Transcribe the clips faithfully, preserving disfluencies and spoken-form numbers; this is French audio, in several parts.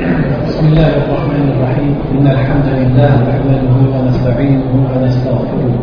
بسم الله الرحمن الرحيم إن الحمد لله نحمده ونستعينه ونستغفره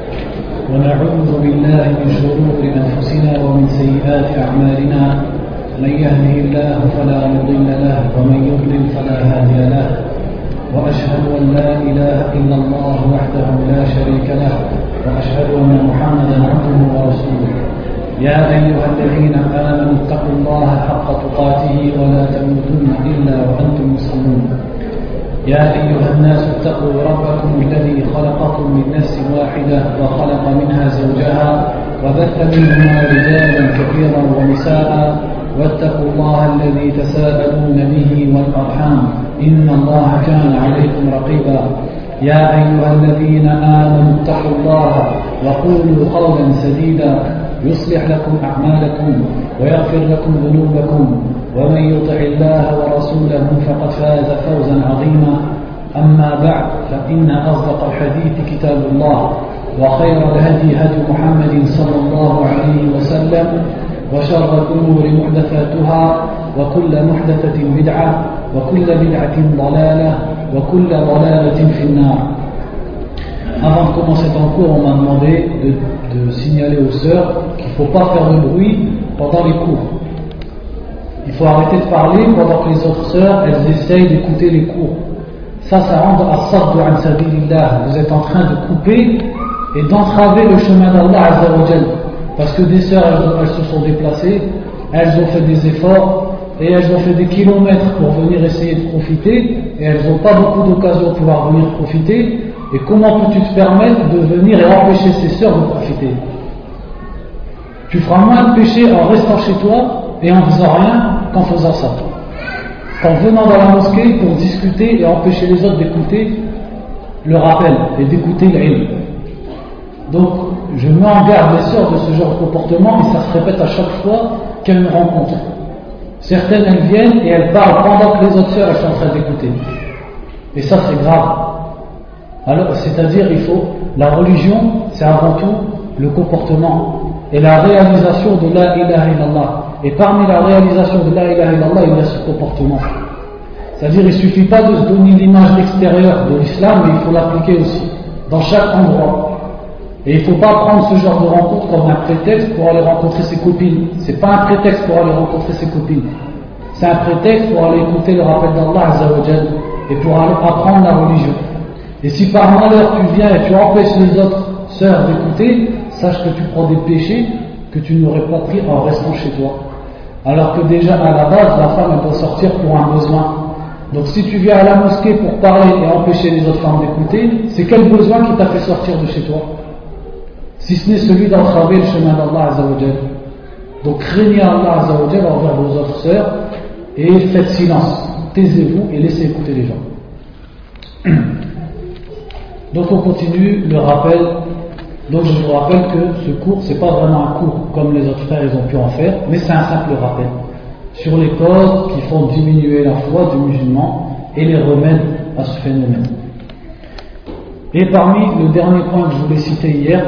ونعوذ بالله من شرور أنفسنا ومن سيئات أعمالنا من يهده الله فلا مضل له ومن يضلل فلا هادي له وأشهد أن لا إله إلا الله وحده لا شريك له وأشهد أن محمدا عبده ورسوله يا أيها الذين آمنوا اتقوا الله حق تقاته ولا تموتن إلا وأنتم مسلمون يا أيها الناس اتقوا ربكم الذي خلقكم من نفس واحدة وخلق منها زوجها وبث منهما رجالا كثيرا ونساء واتقوا الله الذي تساءلون به والأرحام إن الله كان عليكم رقيبا يا أيها الذين آمنوا اتقوا الله وقولوا قولا سديدا يصلح لكم أعمالكم ويغفر لكم ذنوبكم ومن يطع الله ورسوله فقد فاز فوزا عظيما أما بعد فإن أصدق الحديث كتاب الله وخير الهدي هدي محمد صلى الله عليه وسلم وشر الأمور محدثاتها وكل محدثة بدعة وكل بدعة ضلالة وكل ضلالة في النار. Avant de commencer ton cours, on m'a demandé de, de signaler aux sœurs qu'il ne faut pas faire de bruit pendant les cours. Il faut arrêter de parler pendant que les autres sœurs, elles essayent d'écouter les cours. Ça, ça rend as-saddu an sabilillah. Vous êtes en train de couper et d'entraver le chemin d'Allah Azza wa Jal. Parce que des sœurs, elles, elles se sont déplacées, elles ont fait des efforts et elles ont fait des kilomètres pour venir essayer de profiter et elles n'ont pas beaucoup d'occasions de pouvoir venir profiter. Et comment peux-tu te permettre de venir et empêcher ces sœurs de profiter? Tu feras moins de péché en restant chez toi et en faisant rien qu'en faisant ça. Qu'en venant dans la mosquée pour discuter et empêcher les autres d'écouter le rappel et d'écouter l'ilm. Donc, je mets en garde les sœurs de ce genre de comportement et ça se répète à chaque fois qu'elles me rencontrent. Certaines, elles viennent et elles parlent pendant que les autres sœurs, elles sont en train d'écouter. Et ça, c'est grave. Alors, c'est-à-dire, il faut, la religion, c'est avant tout le comportement et la réalisation de la ilaha illallah. Et parmi la réalisation de la ilaha illallah, il y a ce comportement. C'est-à-dire, il ne suffit pas de se donner l'image extérieure de l'islam, mais il faut l'appliquer aussi, dans chaque endroit. Et il ne faut pas prendre ce genre de rencontre comme un prétexte pour aller rencontrer ses copines. Ce n'est pas un prétexte pour aller rencontrer ses copines. C'est un prétexte pour aller écouter le rappel d'Allah Azza wa Jal et pour aller apprendre la religion. Et si par malheur tu viens et tu empêches les autres sœurs d'écouter, sache que tu prends des péchés que tu n'aurais pas pris en restant chez toi. Alors que déjà à la base, la femme elle doit sortir pour un besoin. Donc si tu viens à la mosquée pour parler et empêcher les autres femmes d'écouter, c'est quel besoin qui t'a fait sortir de chez toi? Si ce n'est celui d'entraver le chemin d'Allah Azza wa Jal. Donc craignez Allah Azza wa Jal envers vos autres sœurs et faites silence. Taisez-vous et laissez écouter les gens. Donc on continue le rappel. Donc je vous rappelle que ce cours, c'est pas vraiment un cours comme les autres frères ils ont pu en faire, mais c'est un simple rappel sur les causes qui font diminuer la foi du musulman et les remèdes à ce phénomène. Et parmi le dernier point que je voulais citer hier,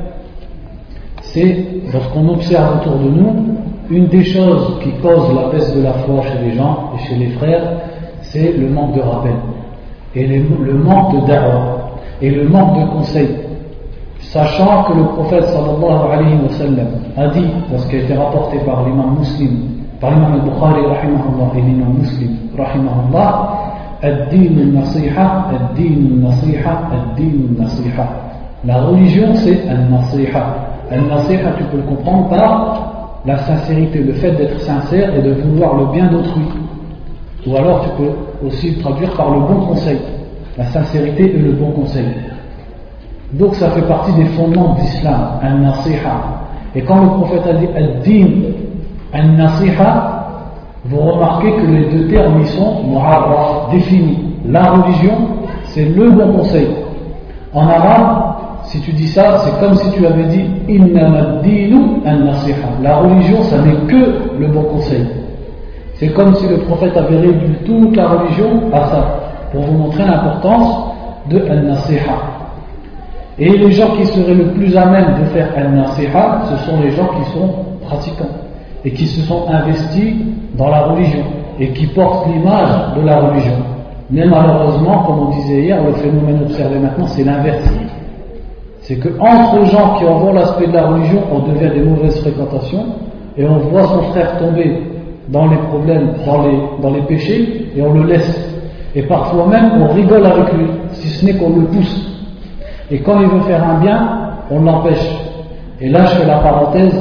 c'est lorsqu'on observe autour de nous, une des choses qui cause la baisse de la foi chez les gens et chez les frères, c'est le manque de rappel et le manque de da'wah et le manque de conseils, sachant que le prophète sallallahu alayhi wa sallam a dit, lorsqu'il a été rapporté par l'imam Muslim, par l'imam al-Bukhari rahimahullah et l'imam Muslim rahimahullah, ad-din al-nasiha, ad-din al-nasiha, ad-din al-nasiha. La religion c'est al-nasiha. Al-nasiha, tu peux le comprendre par la sincérité, le fait d'être sincère et de vouloir le bien d'autrui. Ou alors tu peux aussi le traduire par le bon conseil. La sincérité et le bon conseil. Donc ça fait partie des fondements de l'islam, al-nasiha. Et quand le prophète a dit ad-din, al-nasiha, vous remarquez que les deux termes y sont mu'arraf, définis. La religion, c'est le bon conseil. En arabe, si tu dis ça, c'est comme si tu avais dit innama ad-dinu al-nasiha. La religion, ça n'est que le bon conseil. C'est comme si le prophète avait réduit toute la religion à ça, pour vous montrer l'importance de al-nasiha. Et les gens qui seraient le plus à même de faire al-nasiha, ce sont les gens qui sont pratiquants et qui se sont investis dans la religion et qui portent l'image de la religion. Mais malheureusement, comme on disait hier, le phénomène observé maintenant, c'est l'inverse. C'est qu'entre gens qui en voient l'aspect de la religion, on devient des mauvaises fréquentations, et on voit son frère tomber dans les problèmes, dans les, dans les péchés, et on le laisse. Et parfois même, on rigole avec lui, si ce n'est qu'on le pousse. Et quand il veut faire un bien, on l'empêche. Et là, je fais la parenthèse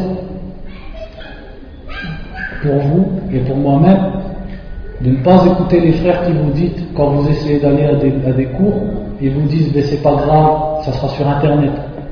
pour vous et pour moi-même, de ne pas écouter les frères qui vous disent, quand vous essayez d'aller à des, à des cours, ils vous disent, mais c'est pas grave, ça sera sur internet.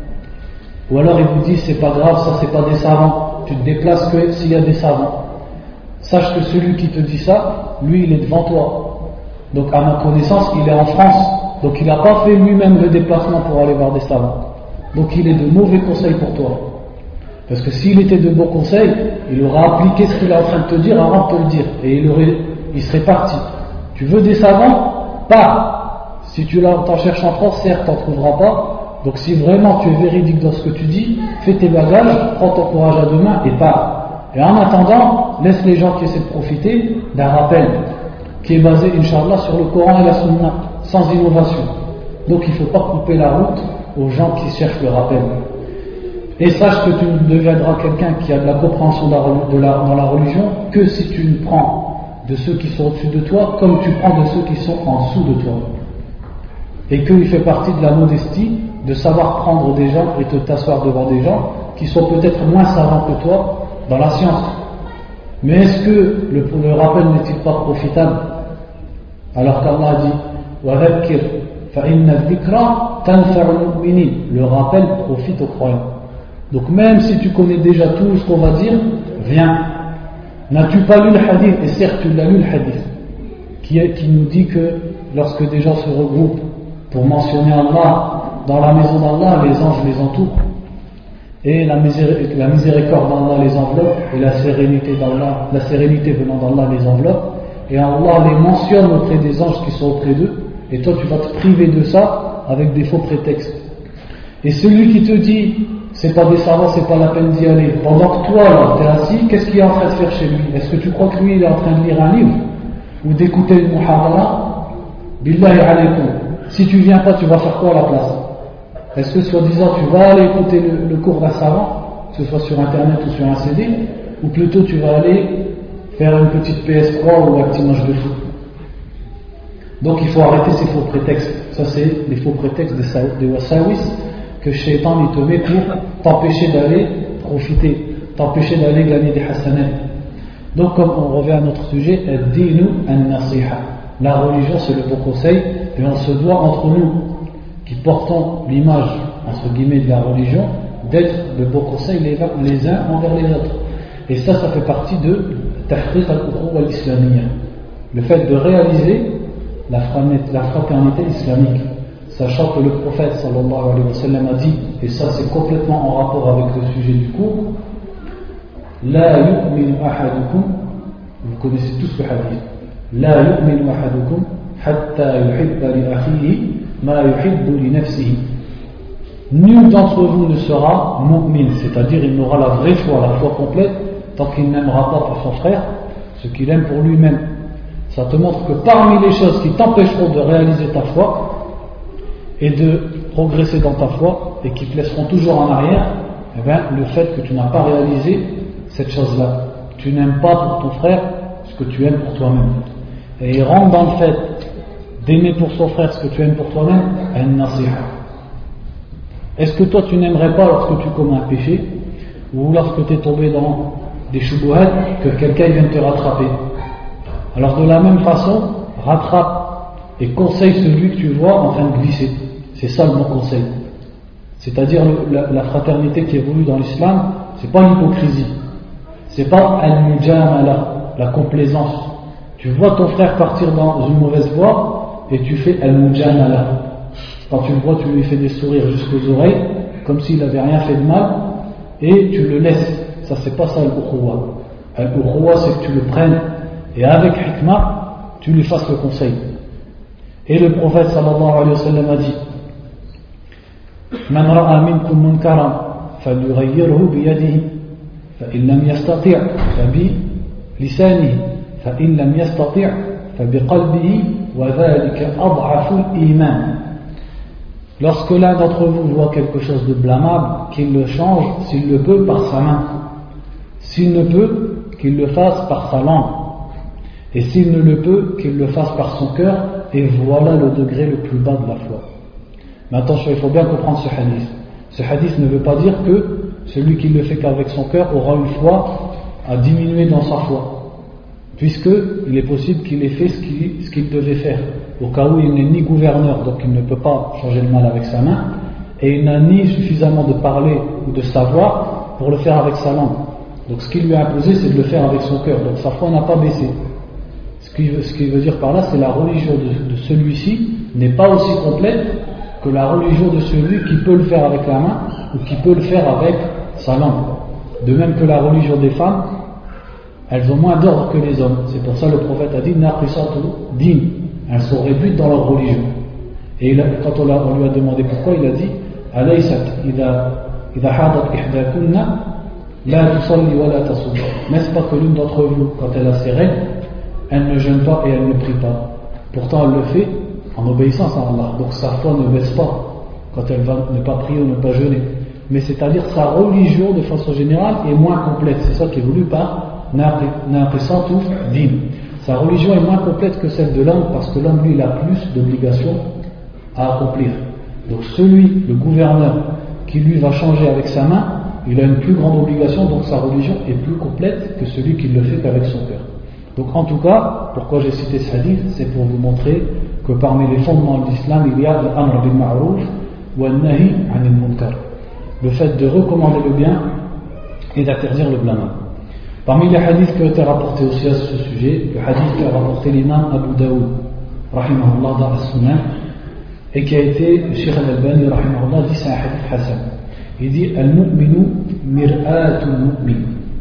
Ou alors ils vous disent, c'est pas grave, ça c'est pas des savants, tu te déplaces que s'il y a des savants. Sache que celui qui te dit ça, lui il est devant toi. Donc à ma connaissance, il est en France, donc il n'a pas fait lui-même le déplacement pour aller voir des savants. Donc il est de mauvais conseils pour toi. Parce que s'il était de bons conseils, il aurait appliqué ce qu'il est en train de te dire avant de te le dire. Et il, aurait, il serait parti. Tu veux des savants? Pas. Si tu t'en cherches en France, certes, tu n'en trouveras pas. Donc si vraiment tu es véridique dans ce que tu dis, fais tes bagages, prends ton courage à deux mains et pars. Et en attendant, laisse les gens qui essaient de profiter d'un rappel qui est basé, Inch'Allah, sur le Coran et la Sunna, sans innovation. Donc il ne faut pas couper la route aux gens qui cherchent le rappel. Et sache que tu ne deviendras quelqu'un qui a de la compréhension de la, dans la religion que si tu ne prends de ceux qui sont au-dessus de toi comme tu prends de ceux qui sont en dessous de toi. Et qu'il fait partie de la modestie de savoir prendre des gens et te t'asseoir devant des gens qui sont peut-être moins savants que toi dans la science. Mais est-ce que le, le rappel n'est-il pas profitable? Alors qu'Allah a dit وَذَكِّرْ فَإِنَّ الذِّكْرَى تَنْفَعُ الْمُؤْمِنِينَ. Le rappel profite aux croyants. Donc même si tu connais déjà tout ce qu'on va dire, viens. N'as-tu pas lu le hadith? Et certes tu l'as lu le hadith, qui, est, qui nous dit que lorsque des gens se regroupent pour mentionner Allah dans la maison d'Allah, les anges les entourent, et la, miséricorde, la miséricorde d'Allah les enveloppe, et la sérénité d'Allah, la sérénité venant d'Allah les enveloppe, et Allah les mentionne auprès des anges qui sont auprès d'eux, et toi tu vas te priver de ça avec des faux prétextes. Et celui qui te dit c'est pas des savants, c'est pas la peine d'y aller, pendant que toi là t'es assis, qu'est-ce qu'il est en train de faire chez lui? Est-ce que tu crois que lui il est en train de lire un livre ou d'écouter une muhadara? Billahi alaykum, si tu viens pas, tu vas faire quoi à la place? Est-ce que soi-disant tu vas aller écouter le, le cours d'un savant, que ce soit sur internet ou sur un C D, ou plutôt tu vas aller faire une petite P S trois ou un petit match de foot? Donc il faut arrêter ces faux prétextes. Ça c'est les faux prétextes des wasawis que Shaitan il te met pour t'empêcher d'aller profiter, t'empêcher d'aller gagner des hasanat. Donc comme on revient à notre sujet, ad-dinu an-nasiha. La religion c'est le bon conseil, et on se doit entre nous qui portons l'image entre guillemets de la religion d'être de bons conseils les, les uns envers les autres. Et ça, ça fait partie de tahqiq al-ukhuwa al-islamiyya, le fait de réaliser la fraternité islamique, sachant que le prophète sallallahu alayhi wa sallam a dit, et ça c'est complètement en rapport avec le sujet du cours, la yu'minu ahadukum, vous connaissez tous le hadith, la yu'minu ahadukum hatta yuhibba li akhihi ma yuhibbu li nafsihi. Nul d'entre vous ne sera mu'min, c'est-à-dire il n'aura la vraie foi, la foi complète, tant qu'il n'aimera pas pour son frère ce qu'il aime pour lui-même. Ça te montre que parmi les choses qui t'empêcheront de réaliser ta foi et de progresser dans ta foi et qui te laisseront toujours en arrière, eh bien, le fait que tu n'as pas réalisé cette chose-là. Tu n'aimes pas pour ton frère ce que tu aimes pour toi-même. Et il rentre dans le fait d'aimer pour son frère ce que tu aimes pour toi-même, an-nasiha. Est-ce que toi tu n'aimerais pas lorsque tu commets un péché ou lorsque tu es tombé dans des shubuhat que quelqu'un vienne te rattraper? Alors de la même façon, rattrape et conseille celui que tu vois en train de glisser. C'est ça le bon conseil. C'est-à-dire la, la fraternité qui est voulue dans l'islam, c'est pas l'hypocrisie, c'est pas al-mujamala, la complaisance. Tu vois ton frère partir dans une mauvaise voie et tu fais al-mujamala. Quand tu le vois, tu lui fais des sourires jusqu'aux oreilles, comme s'il n'avait rien fait de mal, et tu le laisses. Ça c'est pas ça al-ukhuwa. Al-ukhuwa c'est que tu le prennes et avec hikmah, tu lui fasses le conseil. Et le prophète sallallahu alayhi wa sallam a dit Man ra'a minkum munkaran falyughayyirhu biyadihi fa in lam yastati' fa bi lisanihi فإن لم يستطع فبقلبه وذلك أضعف الإيمان. Lorsque l'un d'entre vous voit quelque chose de blâmable, qu'il le change, s'il le peut, par sa main. S'il ne peut, qu'il le fasse par sa langue. Et s'il ne le peut, qu'il le fasse par son cœur. Et voilà le degré le plus bas de la foi. Mais attention, il faut bien comprendre ce hadith. Ce hadith ne veut pas dire que celui qui le fait qu'avec son cœur aura une foi à diminuer dans sa foi. Puisqu'il est possible qu'il ait fait ce qu'il, ce qu'il devait faire. Au cas où il n'est ni gouverneur, donc il ne peut pas changer le mal avec sa main, et il n'a ni suffisamment de parler ou de savoir pour le faire avec sa langue. Donc ce qu'il lui a imposé, c'est de le faire avec son cœur. Donc sa foi n'a pas baissé. Ce qu'il veut, ce qu'il veut dire par là, c'est la religion de, de celui-ci n'est pas aussi complète que la religion de celui qui peut le faire avec la main ou qui peut le faire avec sa langue. De même que la religion des femmes, elles ont moins d'ordre que les hommes. C'est pour ça que le prophète a dit naqisatu din. Elles sont réduites dans leur religion. Et il a, quand on, a, on lui a demandé pourquoi, il a dit alaysat idha idha hadat ihdakunna la tusalli wa la tasum. N'est-ce pas que l'une d'entre vous, quand elle a ses règles, elle ne jeûne pas et elle ne prie pas. Pourtant elle le fait en obéissance à Allah. Donc sa foi ne baisse pas quand elle va ne pas prier ou ne pas jeûner. Mais c'est-à-dire sa religion de façon générale est moins complète. C'est ça qui est voulu par naqisatu din. Sa religion est moins complète que celle de l'homme parce que l'homme, lui, il a plus d'obligations à accomplir. Donc celui, le gouverneur, qui lui va changer avec sa main, il a une plus grande obligation, donc sa religion est plus complète que celui qui le fait qu'avec son cœur. Donc en tout cas, pourquoi j'ai cité ce hadith, c'est pour vous montrer que parmi les fondements de l'islam, il y a l'amr bil ma'ruf wa nahi anil munkar. Le fait de recommander le bien et d'interdire le blâmable. Parmi les hadiths qui ont été rapportés aussi à ce sujet, le hadith qu'a rapporté l'imam Abu Daoud, rahimahullah, dans As-Sunan, et qui a été, le Cheikh Al-Albani, rahimahullah, dit c'est un hadith Hassan. Il dit Al-mu'minu mir'atul mu'min.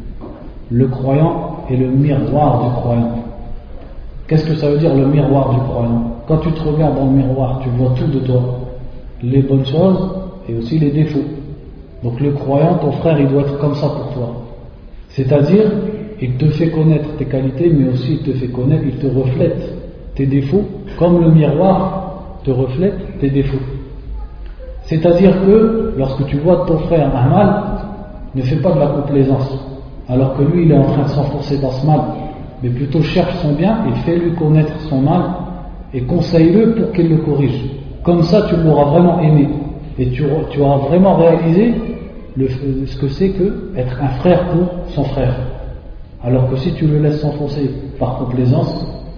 Le croyant est le miroir du croyant. Qu'est-ce que ça veut dire le miroir du croyant? Quand tu te regardes dans le miroir, tu vois tout de toi, les bonnes choses et aussi les défauts. Donc le croyant, ton frère, il doit être comme ça pour toi. C'est-à-dire, il te fait connaître tes qualités, mais aussi il te fait connaître, il te reflète tes défauts, comme le miroir te reflète tes défauts. C'est-à-dire que, lorsque tu vois ton frère un mal, ne fais pas de la complaisance, alors que lui, il est en train de s'enfoncer dans ce mal, mais plutôt cherche son bien et fais-lui connaître son mal, et conseille-le pour qu'il le corrige. Comme ça, tu l'auras vraiment aimé, et tu, tu auras vraiment réalisé Le, ce que c'est que être un frère pour son frère. Alors que si tu le laisses s'enfoncer par complaisance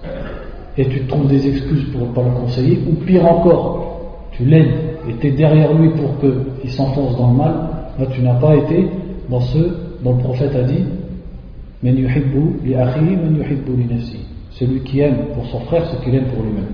et tu te trouves des excuses pour ne pas le conseiller, ou pire encore, tu l'aides et tu es derrière lui pour qu'il s'enfonce dans le mal, là tu n'as pas été dans ce dont le prophète a dit Men yuhibbu li akhihi men yuhibbu li nafsi. Celui qui aime pour son frère ce qu'il aime pour lui-même.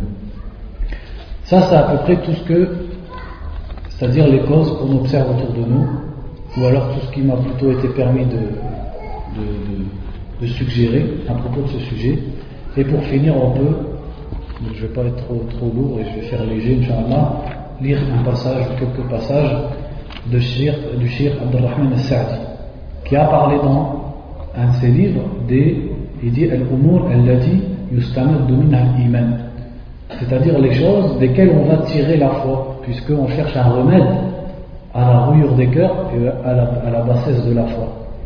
Ça c'est à peu près tout ce que, c'est-à-dire les causes qu'on observe autour de nous, ou alors tout ce qui m'a plutôt été permis de, de, de, de suggérer à propos de ce sujet. Et pour finir, on peut, je ne vais pas être trop, trop lourd et je vais faire léger, Inch'Allah, lire un passage ou quelques passages de shir, du Cheikh Abdurrahman al-Sa'di, qui a parlé dans un de ses livres des, il dit Al-Umur allati yustamaddu minha al-iman, c'est-à-dire les choses desquelles on va tirer la foi, puisqu'on cherche un remède à la rouillure des cœurs et à la, à la bassesse de la foi.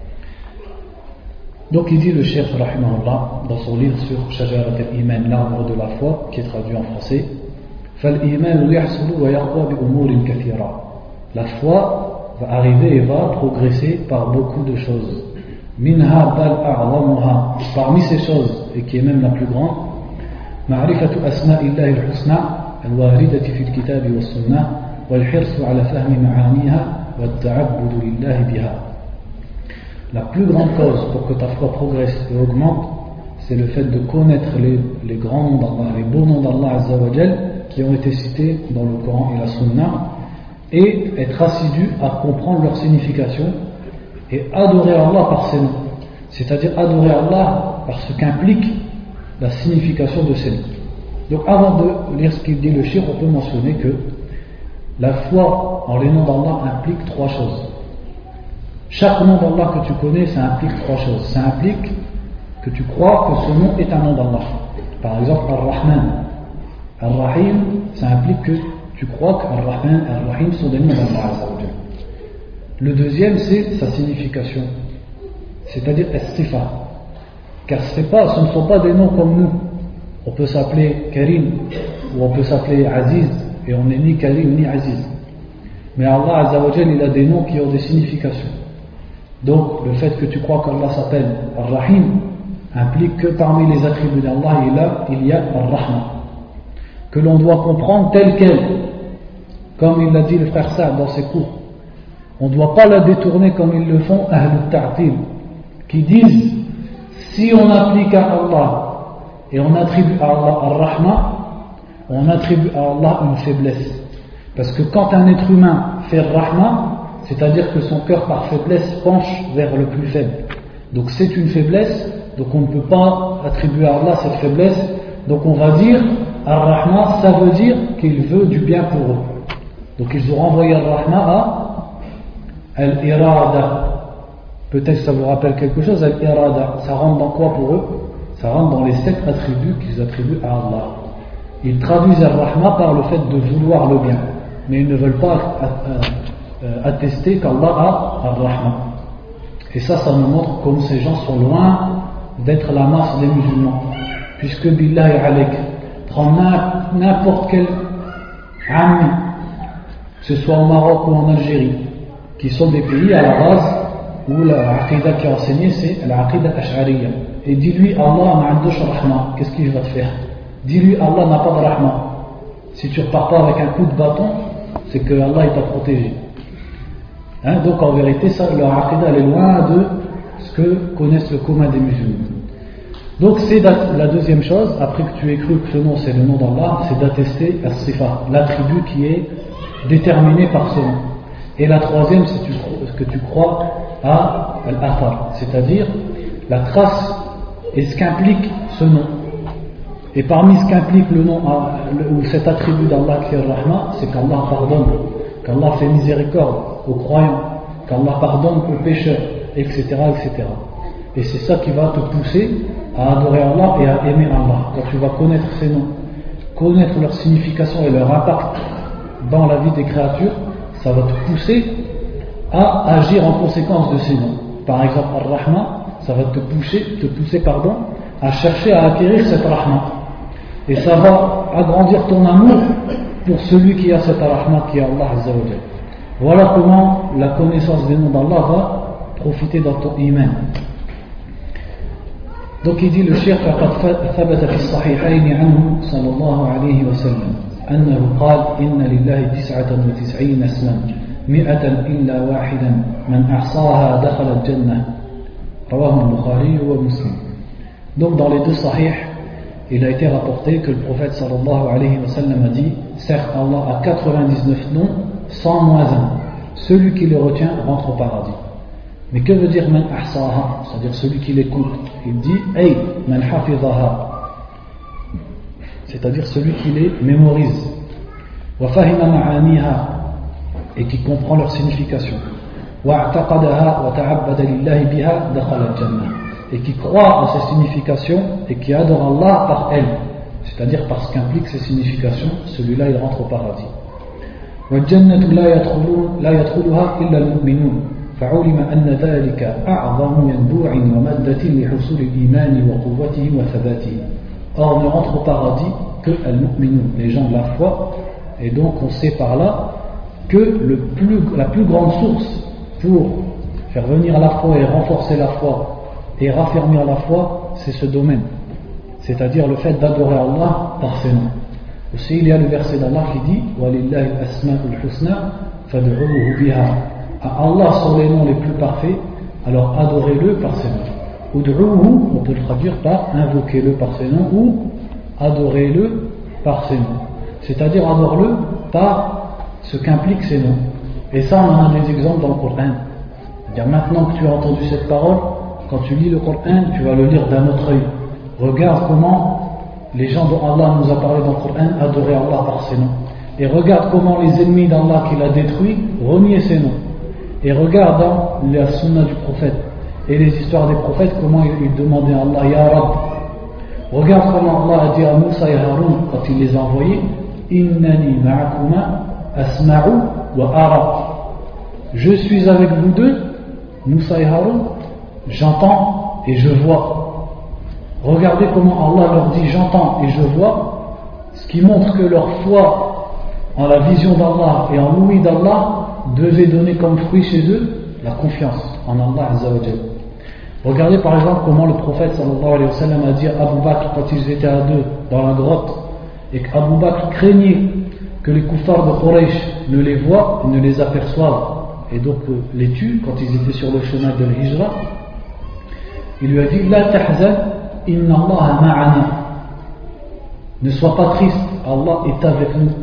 Donc il dit le Cheikh rahimahullah dans son livre sur Shajarat al-Iman, l'arbre de la foi, qui est traduit en français, فَالْإِيمَانُ يَحْصُلُ وَيَقْوَى بِأُمُورٍ كَثِيرًا. La foi va arriver et va progresser par beaucoup de choses. مِنْهَا بَلْ أَعْظَمُهَا. Parmi ces choses, et qui est même la plus grande, مَعْرِفَةُ أَسْمَاءِ اللَّهِ الْحُسْنَى الْوَارِدَةِ فِي الْكِتَابِ وَالسُّنَّةِ والحرص على فهم معانيها والتعبد لله بها. La plus grande cause pour que ta foi progresse et augmente, c'est le fait de connaître les, les grands noms d'Allah, les beaux noms d'Allah Azza wa Jal qui ont été cités dans le Coran et la Sunna, et être assidu à comprendre leur signification et adorer Allah par ces noms, c'est-à-dire adorer Allah par ce qu'implique la signification de ces noms. Donc avant de lire ce qu'il dit le Cheikh, on peut mentionner que la foi en les noms d'Allah implique trois choses. Chaque nom d'Allah que tu connais, ça implique trois choses. Ça implique que tu crois que ce nom est un nom d'Allah. Par exemple, Ar-Rahman, Ar-Rahim, ça implique que tu crois qu'Ar-Rahman et Ar-Rahim sont des noms d'Allah. Le deuxième, c'est sa signification, c'est-à-dire As-Sifa. Car pas, ce ne sont pas des noms comme nous. On peut s'appeler Karim ou on peut s'appeler Aziz et on n'est ni Karim ni Aziz. Mais Allah Azza wa Jal, il a des noms qui ont des significations. Donc le fait que tu crois qu'Allah s'appelle Ar-Rahim implique que parmi les attributs d'Allah il y a Ar-Rahma, que l'on doit comprendre telle qu'elle, comme il l'a dit le frère Saad dans ses cours. On ne doit pas la détourner comme ils le font Ahlul Ta'til, qui disent si on applique à Allah et on attribue à Allah Ar-Rahma, on attribue à Allah une faiblesse. Parce que quand un être humain fait Rahma, c'est-à-dire que son cœur par faiblesse penche vers le plus faible. Donc c'est une faiblesse, donc on ne peut pas attribuer à Allah cette faiblesse. Donc on va dire Ar-Rahma, ça veut dire qu'il veut du bien pour eux. Donc ils ont renvoyé Ar-Rahma à Al-Irada. Peut-être ça vous rappelle quelque chose, Al-Irada. Ça rentre dans quoi pour eux? Ça rentre dans les sept attributs qu'ils attribuent à Allah. Ils traduisent Ar-Rahma par le fait de vouloir le bien, mais ils ne veulent pas attester qu'Allah a Ar-Rahma. Et ça, ça nous montre comme ces gens sont loin d'être la masse des musulmans. Puisque Billahi alayk, prends n'importe quel ami, que ce soit au Maroc ou en Algérie, qui sont des pays à la base où la aqidah qui est enseignée c'est la aqidah ash'ariyya. Et dis-lui Allah ma'andosh rahma, qu'est-ce qu'il va te faire? Dis-lui Allah n'a pas de rahma. Si tu repars pas avec un coup de bâton, c'est que Allah t'a protégé. Hein, donc en vérité, ça, leur aqidah elle est loin de ce que connaissent le commun des musulmans. Donc c'est la deuxième chose, après que tu aies cru que ce nom c'est le nom d'Allah, c'est d'attester as-sifa, l'attribut qui est déterminé par ce nom. Et la troisième, c'est que tu crois à al-athar, c'est-à-dire la trace et ce qu'implique ce nom. Et parmi ce qu'implique le nom ou cet attribut d'Allah qui est Rahma, c'est qu'Allah pardonne, qu'Allah fait miséricorde aux croyants, qu'Allah pardonne aux pécheurs, et cetera, et cetera. Et c'est ça qui va te pousser à adorer Allah et à aimer Allah. Quand tu vas connaître ces noms, connaître leur signification et leur impact dans la vie des créatures, ça va te pousser à agir en conséquence de ces noms. Par exemple, Ar-Rahma, ça va te pousser, te pousser pardon, à chercher à acquérir cette Rahma. Et ça va agrandir ton amour pour celui qui a cette Rahma, qui est Allah Azza wa Jal. Voilà comment la connaissance des noms d'Allah va profiter dans ton iman. Donc il dit le Cheikh فقد ثبت في الصحيحين عنه صلى الله عليه وسلم أنه قال إن لله تسعة وتسعين اسما مئة إلا واحدا من أحصاها دخل الجنة رواه البخاري ومسلم. Donc dans les deux sahih, il a été rapporté que le prophète sallallahu alayhi wa sallam a dit certes Allah a quatre-vingt-dix-neuf noms sans moins un, celui qui les retient rentre au paradis. Mais que veut dire man ahsaha, c'est-à-dire celui qui l'écoute? Il dit ay man hafizaha, c'est-à-dire celui qui les mémorise, wa fahima ma'aniha, et qui comprend leur signification, wa a'taqadaha wa ta'abbada lillahi biha dakhala al-jannah, et qui croit en ces significations et qui adore Allah par elles, c'est-à-dire par ce qu'implique ces significations, celui-là il rentre au paradis. Wa al-jannatu la yadkhuluha illa al-mu'minun. فعلم أن ذلك أعظم ينبوع ومادة لحصول الإيمان وقوته وثباته. Or ne rentre au paradis que al-mu'minun, les gens de la foi, et donc on sait par là que le plus, la plus grande source pour faire venir la foi et renforcer la foi et raffermir la foi, c'est ce domaine, c'est-à-dire le fait d'adorer Allah par ses noms. Aussi il y a le verset d'Allah qui dit وَلِلَّهِ الْأَسْمَاءُ الْحُسْنَى فَادْعُوهُ بِهَا. À Allah sont les noms les plus parfaits, alors adorez-le par ses noms. Ud'uhu, on peut le traduire par invoquez-le par ses noms, ou adorez-le par ses noms. C'est-à-dire adore-le par ce qu'impliquent ces noms. Et ça, on en a des exemples dans le Coran. C'est-à-dire maintenant que tu as entendu cette parole, quand tu lis le Coran, tu vas le lire d'un autre œil. Regarde comment les gens dont Allah nous a parlé dans le Coran adoraient Allah par ses noms. Et regarde comment les ennemis d'Allah qu'il a détruits reniaient ses noms. Et regarde dans la sunna du prophète et les histoires des prophètes, comment ils, ils demandaient à Allah, Ya Rab. Regarde comment Allah a dit à Moussa et Haroun quand il les a envoyés, Innani ma'akuma asma'u wa ara. Je suis avec vous deux, Moussa et Haroun, j'entends et je vois. Regardez comment Allah leur dit j'entends et je vois, ce qui montre que leur foi en la vision d'Allah et en l'ouïe d'Allah devait donner comme fruit chez eux la confiance en Allah Azza wa Jalla. Regardez par exemple comment le prophète sallallahu alayhi wa sallam a dit à Abu Bakr quand ils étaient à deux dans la grotte et qu'Abu Bakr craignait que les kuffars de Quraysh ne les voient et ne les aperçoivent et donc euh, les tuent quand ils étaient sur le chemin de l'Hijra. Il lui a dit La tahzan inna Allah ma'ana. Ne sois pas triste, Allah est avec nous.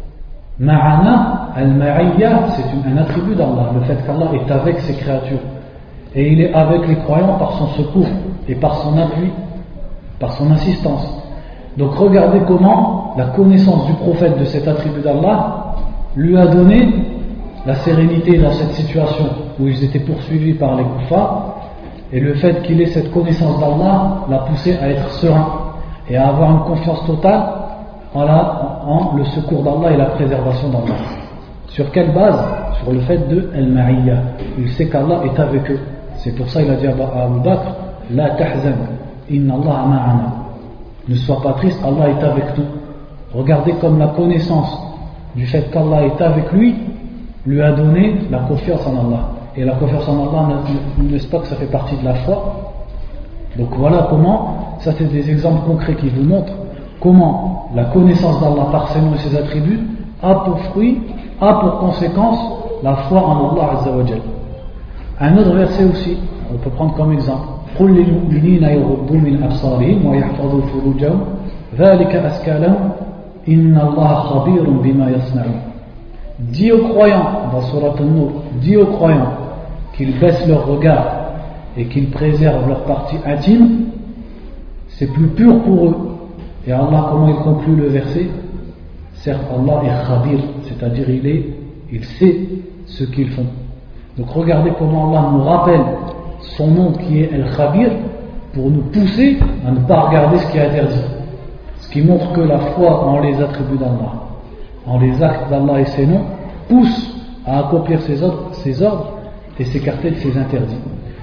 Ma'ana, al-ma'iyya, c'est un attribut d'Allah, le fait qu'Allah est avec ses créatures. Et il est avec les croyants par son secours et par son appui, par son assistance. Donc regardez comment la connaissance du prophète de cet attribut d'Allah lui a donné la sérénité dans cette situation où ils étaient poursuivis par les kuffars, et le fait qu'il ait cette connaissance d'Allah l'a poussé à être serein et à avoir une confiance totale en, la, en le secours d'Allah et la préservation d'Allah. Sur quelle base? Sur le fait de al-ma'iyya. Il sait qu'Allah est avec eux. C'est pour ça qu'il a dit à Abu Bakr La tahzan, inna Allah ma'ana. Ne sois pas triste, Allah est avec nous. Regardez comme la connaissance du fait qu'Allah est avec lui lui a donné la confiance en Allah. Et la confiance en Allah, n'est-ce pas que ça fait partie de la foi? Donc voilà comment, ça c'est des exemples concrets qui vous montrent comment la connaissance d'Allah par ses noms et ses attributs a pour fruit, a pour conséquence la foi en Allah Azza wa Jal. Un autre verset aussi, on peut prendre comme exemple قُلْ لِلْمُؤْمِنِينَ يَغُضُّوا مِنْ أَبْصَارِهِمْ وَيَحْفَظُوا فُرُوجَهُمْ ذَلِكَ أَزْكَىٰ لَهُمْ إِنَّ اللَّهَ خَبِيرٌ بِمَا يَصْنَعُونَ. Dis aux croyants, dans Surat An-Nur, dis aux croyants qu'ils baissent leur regard et qu'ils préservent leur partie intime, c'est plus pur pour eux. Et Allah, comment il conclut le verset? Certes, Allah est khabir, c'est-à-dire il est, il sait ce qu'ils font. Donc regardez comment Allah nous rappelle son nom qui est Al-Khabir pour nous pousser à ne pas regarder ce qui est interdit. Ce qui montre que la foi en les attributs d'Allah, en les actes d'Allah et ses noms, pousse à accomplir ses ordres, ses ordres et s'écarter de ses interdits.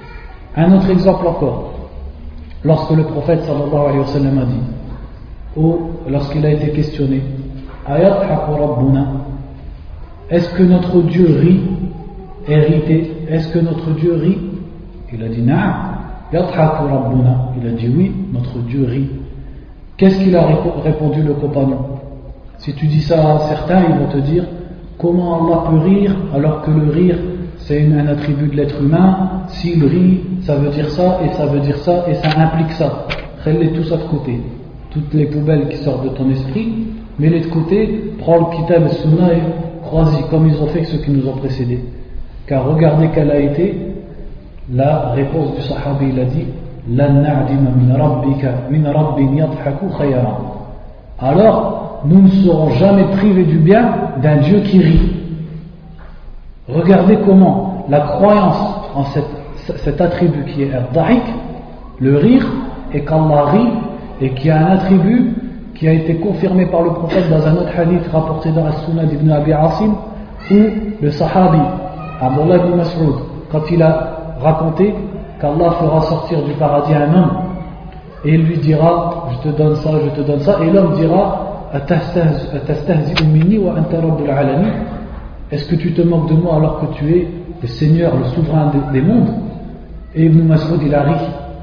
Un autre exemple encore, lorsque le prophète sallallahu alayhi wa sallam a dit, ou lorsqu'il a été questionné, Ayadhaku Rabbuna, est-ce que notre Dieu rit, hérité, est-ce que notre Dieu rit? Il a dit Na'am, Yadhaku Rabbuna, il a dit oui, notre Dieu rit. Qu'est-ce qu'il a répondu le compagnon? Si tu dis ça à certains, ils vont te dire comment Allah peut rire alors que le rire c'est un attribut de l'être humain. S'il rit, ça veut dire ça et ça veut dire ça et ça implique ça. Mets-les tous à de côté. Toutes les poubelles qui sortent de ton esprit, mets-les de côté, prends le kitab et sunna et crois-y comme ils ont fait ceux qui nous ont précédés. Car regardez quelle a été la réponse du sahabi. Il a dit Lan na'dima min rabbika min rabbin yadhaku khayran. Alors nous ne serons jamais privés du bien d'un Dieu qui rit. Regardez comment la croyance en cette, cet attribut qui est al-dahik, le rire, et qu'Allah rit, et qui a un attribut qui a été confirmé par le prophète dans un autre hadith rapporté dans la Sunnah d'Ibn Abi Asim, où le sahabi Abdullah ibn Mas'ud, quand il a raconté qu'Allah fera sortir du paradis un homme et il lui dira je te donne ça, je te donne ça, et l'homme dira est-ce que tu te moques de moi alors que tu es le Seigneur, le souverain des mondes? Et Ibn Mas'ud il a ri.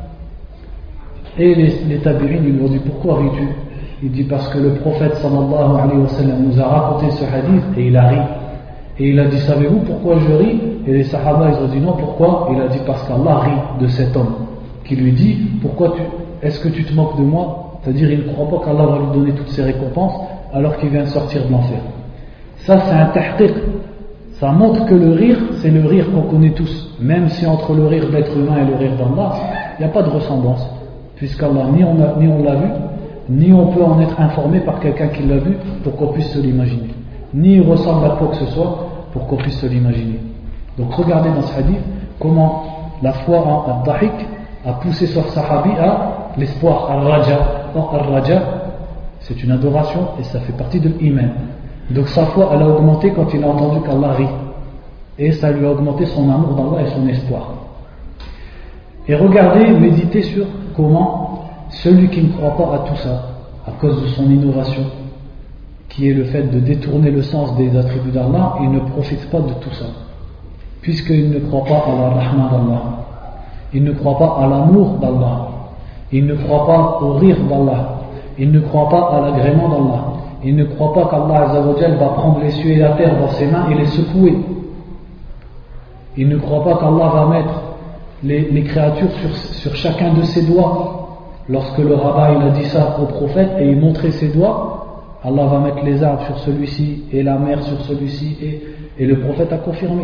Et les, les tabi'in lui ont dit pourquoi ris-tu? Il dit parce que le prophète sallallahu alayhi wa sallam nous a raconté ce hadith et il a ri. Et il a dit savez-vous pourquoi je ris? Et les sahaba ils ont dit non, pourquoi? Il a dit parce qu'Allah rit de cet homme qui lui dit pourquoi tu, est-ce que tu te moques de moi? C'est-à-dire il ne croit pas qu'Allah va lui donner toutes ses récompenses alors qu'il vient de sortir de l'enfer. Ça c'est un tahqiq. Ça montre que le rire c'est le rire qu'on connaît tous, même si entre le rire d'être humain et le rire d'Allah il n'y a pas de ressemblance, puisqu'Allah ni on, a, ni on l'a vu, ni on peut en être informé par quelqu'un qui l'a vu pour qu'on puisse se l'imaginer, ni il ressemble à quoi que ce soit pour qu'on puisse se l'imaginer. Donc regardez dans ce hadith comment la foi en Al-Dahik a poussé ce sahabi à l'espoir, Al-Raja. Or, Al-Raja, c'est une adoration et ça fait partie de l'iman. Donc sa foi, elle a augmenté quand il a entendu qu'Allah rit. Et ça lui a augmenté son amour d'Allah et son espoir. Et regardez, méditez sur comment celui qui ne croit pas à tout ça, à cause de son innovation, qui est le fait de détourner le sens des attributs d'Allah, il ne profite pas de tout ça. Puisqu'il ne croit pas à la rahma d'Allah, il ne croit pas à l'amour d'Allah, il ne croit pas au rire d'Allah, il ne croit pas à l'agrément d'Allah, il ne croit pas qu'Allah Azzawajal va prendre les cieux et la terre dans ses mains et les secouer. Il ne croit pas qu'Allah va mettre les, les créatures sur, sur chacun de ses doigts. Lorsque le rabbin il a dit ça au prophète et il montrait ses doigts, Allah va mettre les arbres sur celui-ci et la mer sur celui-ci, et, et le prophète a confirmé.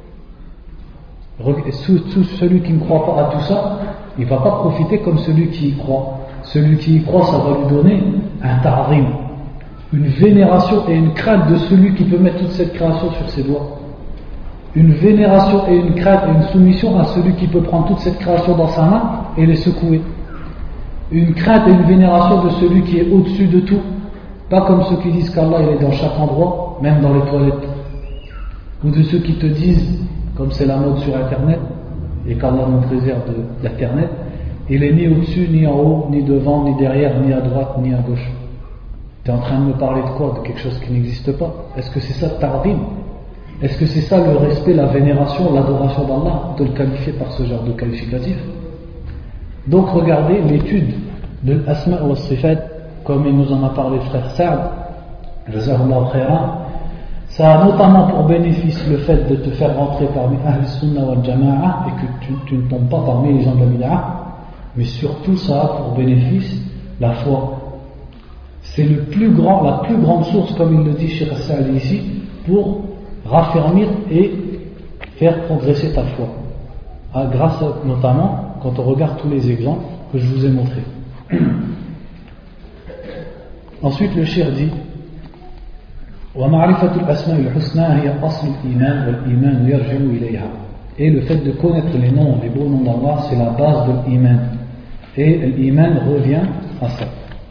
Celui qui ne croit pas à tout ça, il ne va pas profiter comme celui qui y croit. Celui qui y croit, ça va lui donner un ta'zim, une vénération et une crainte de celui qui peut mettre toute cette création sur ses doigts. Une vénération et une crainte et une soumission à celui qui peut prendre toute cette création dans sa main et les secouer. Une crainte et une vénération de celui qui est au-dessus de tout. Pas comme ceux qui disent qu'Allah il est dans chaque endroit, même dans les toilettes. Ou de ceux qui te disent, comme c'est la mode sur Internet, et qu'Allah nous préserve de l'Internet, il est ni au-dessus, ni en haut, ni devant, ni derrière, ni à droite, ni à gauche. Tu es en train de me parler de quoi? De quelque chose qui n'existe pas? Est-ce que c'est ça le ta'zim? Est-ce que c'est ça le respect, la vénération, l'adoration d'Allah, de le qualifier par ce genre de qualificatif? Donc regardez l'étude de l'asma wa sifat, comme il nous en a parlé le frère Saad, Jazahullah khairan. Ça a notamment pour bénéfice le fait de te faire rentrer parmi Ahl Sunnah wal Jama'a et que tu, tu ne tombes pas parmi les gens de la bid'a, mais surtout ça a pour bénéfice la foi. C'est le plus grand, la plus grande source, comme il le dit Cheikh Saad ici, pour raffermir et faire progresser ta foi. Ah, grâce à, notamment quand on regarde tous les exemples que je vous ai montrés. Ensuite le Cheikh dit وَمَعْرِفَةُ الْأَسْمَاءِ الْحُسْنَى هِيَ أَصْلُ الْإِيمَانِ وَالْإِيمَانُ يَرْجِعُ إِلَيْهَا. Et le fait de connaître les noms, les beaux noms d'Allah, c'est la base de l'iman. Et l'iman revient à ça.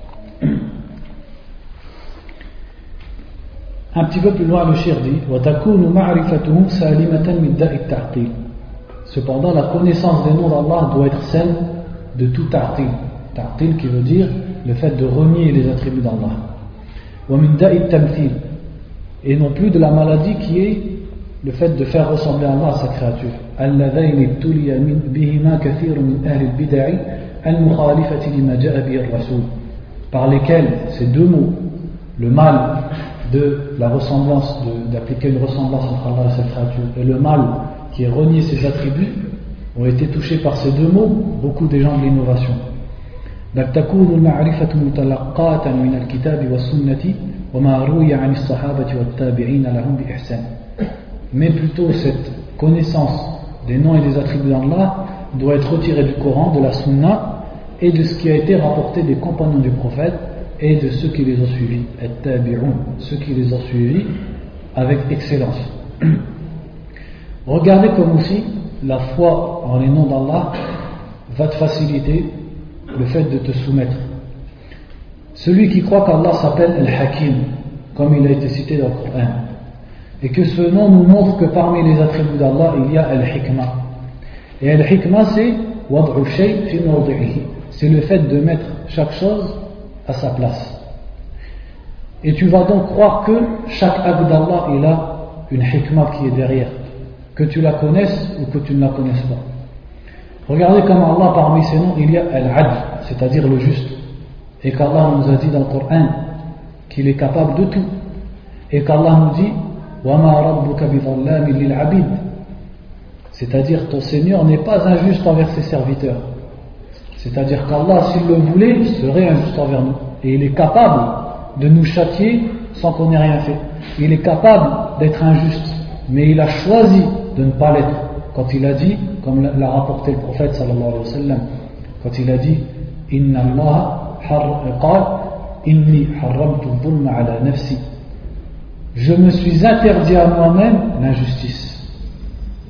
Un petit peu plus loin, le Cheikh dit وَتَكُونُ مَعْرِفَتُهُ سَالِمَةً مِنْ دَاءِ التَّعْطِيلِ. Cependant, la connaissance des noms d'Allah doit être saine de tout ta'til. Ta'til qui veut dire le fait de renier les attributs d'Allah. وَمِنْ دَاءِ التَّمْثِيلِ. Et non plus de la maladie qui est le fait de faire ressembler Allah à sa créature. اللَّذَيْنِ ابْتُلِيَ بِهِمَا كَثِيرٌ مِنْ أَهْلِ الْبِدَعِ الْمُخَالِفَةِ لِمَا جَاءَ بِهِ الرَّسُولُ. Par lesquels ces deux mots, le mal de la ressemblance, de, d'appliquer une ressemblance entre Allah et sa créature, et le mal qui est renié ses attributs, ont été touchés par ces deux mots, beaucoup des gens de l'innovation. بل تكون المعرفة متلقاة من الكتاب والسنة وما روي عن الصحابة والتابعين لهم بإحسان. Mais plutôt cette connaissance des noms et des attributs d'Allah doit être retirée du Coran, de la Sunna et de ce qui a été rapporté des compagnons du prophète et de ceux qui les ont suivis, at-tabi'un, ceux qui les ont suivis avec excellence. Regardez comme aussi la foi en les noms d'Allah va te faciliter le fait de te soumettre. Celui qui croit qu'Allah s'appelle Al-Hakim, comme il a été cité dans le Coran, et que ce nom nous montre que parmi les attributs d'Allah il y a Al-Hikmah. Et Al-Hikmah c'est Wad'u shay fi mawdi'ihi, c'est le fait de mettre chaque chose à sa place. Et tu vas donc croire que chaque acte d'Allah il a une hikmah qui est derrière, que tu la connaisses ou que tu ne la connaisses pas. Regardez comment Allah parmi ses noms il y a Al-Adl, c'est-à-dire le juste, et qu'Allah nous a dit dans le Coran qu'il est capable de tout, et qu'Allah nous dit وَمَا رَبُّكَ بِظَلَّامٍ لِلْعَبِيدِ, c'est-à-dire ton Seigneur n'est pas injuste envers ses serviteurs. C'est-à-dire qu'Allah, s'il le voulait, serait injuste envers nous. Et il est capable de nous châtier sans qu'on ait rien fait. Il est capable d'être injuste, mais il a choisi de ne pas l'être. Quand il a dit, comme l'a rapporté le prophète sallallahu alayhi wa sallam, quand il a dit Inna Allah qal inni harramtu dhulma ala nafsi, je me suis interdit à moi-même l'injustice.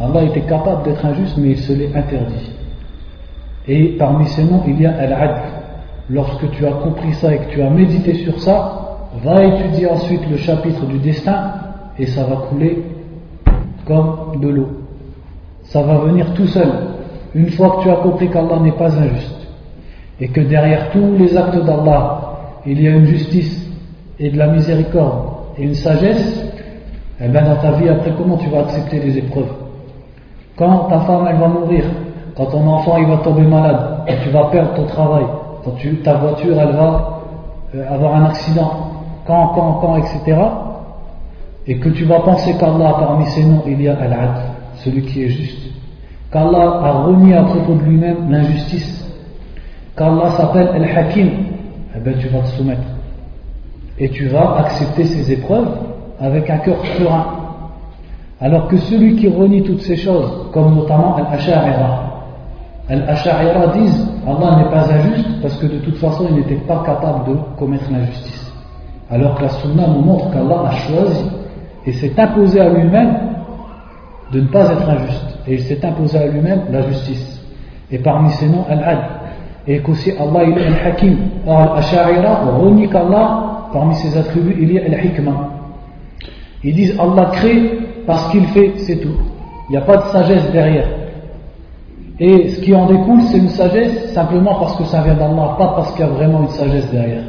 Allah était capable d'être injuste, mais il se l'est interdit. Et parmi ces noms, il y a Al-Adl. Lorsque tu as compris ça et que tu as médité sur ça, va étudier ensuite le chapitre du destin et ça va couler comme de l'eau. Ça va venir tout seul. Une fois que tu as compris qu'Allah n'est pas injuste et que derrière tous les actes d'Allah, il y a une justice et de la miséricorde et une sagesse, eh bien dans ta vie après, comment tu vas accepter les épreuves? Quand ta femme elle va mourir, quand ton enfant il va tomber malade, quand tu vas perdre ton travail, quand tu, ta voiture elle va euh, avoir un accident, quand, quand, quand, et cetera, et que tu vas penser qu'Allah, parmi ses noms, il y a Al-Adl, celui qui est juste, qu'Allah a renié à propos de lui-même l'injustice, qu'Allah s'appelle Al-Hakim, eh bien tu vas te soumettre. Et tu vas accepter ces épreuves avec un cœur serein. Alors que celui qui renie toutes ces choses, comme notamment Al-Asha'ira, Al-Asha'ira disent Allah n'est pas injuste parce que de toute façon il n'était pas capable de commettre l'injustice. Alors que la Sunna nous montre qu'Allah a choisi et s'est imposé à lui-même de ne pas être injuste. Et il s'est imposé à lui-même la justice. Et parmi ces noms, Al-Adl. Et qu'aussi Allah il est Al-Hakim. Or Al-Asha'ira renie qu'Allah, parmi ses attributs, il y a Al-Hikmah. Ils disent Allah crée parce qu'il fait, c'est tout. Il n'y a pas de sagesse derrière. Et ce qui en découle, c'est une sagesse simplement parce que ça vient d'Allah, pas parce qu'il y a vraiment une sagesse derrière.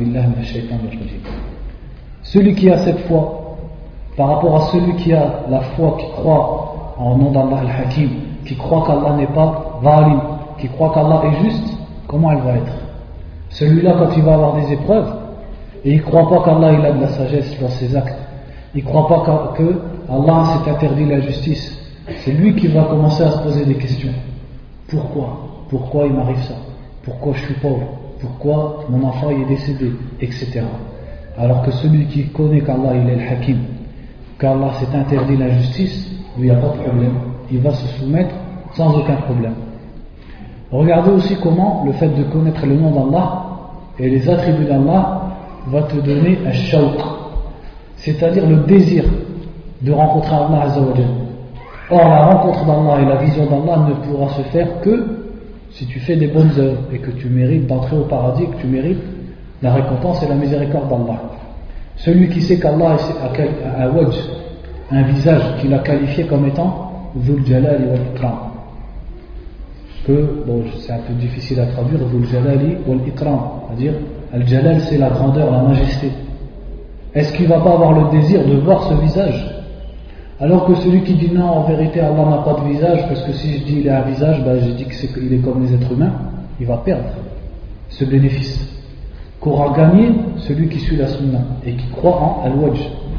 Celui qui a cette foi, par rapport à celui qui a la foi, qui croit en nom d'Allah al-Hakim, qui croit qu'Allah n'est pas zalim, qui croit qu'Allah est juste, comment elle va être? Celui-là, quand il va avoir des épreuves, et il ne croit pas qu'Allah il a de la sagesse dans ses actes, il ne croit pas que Allah s'est interdit la justice, c'est lui qui va commencer à se poser des questions. Pourquoi? Pourquoi il m'arrive ça? Pourquoi je suis pauvre? Pourquoi mon enfant est décédé? Etc. Alors que celui qui connaît qu'Allah il est le Hakim, qu'Allah s'est interdit la justice, lui il n'y a pas de problème. Il va se soumettre sans aucun problème. Regardez aussi comment le fait de connaître le nom d'Allah et les attributs d'Allah va te donner un shawq, c'est-à-dire le désir de rencontrer Allah Azza wa Jalla. Or, la rencontre d'Allah et la vision d'Allah ne pourra se faire que si tu fais des bonnes œuvres et que tu mérites d'entrer au paradis, que tu mérites la récompense et la miséricorde d'Allah. Celui qui sait qu'Allah a un wajh, un visage qu'il a qualifié comme étant Dhul Jalali wal Ikram. Que, bon, c'est un peu difficile à traduire, Dhul Jalali wal Ikram, c'est-à-dire Al-Jalal c'est la grandeur, la majesté. Est-ce qu'il ne va pas avoir le désir de voir ce visage? Alors que celui qui dit non, en vérité Allah n'a pas de visage, parce que si je dis il a un visage, ben je dis qu'il est comme les êtres humains, il va perdre ce bénéfice qu'aura gagné celui qui suit la sunna et qui croit en al-wajh.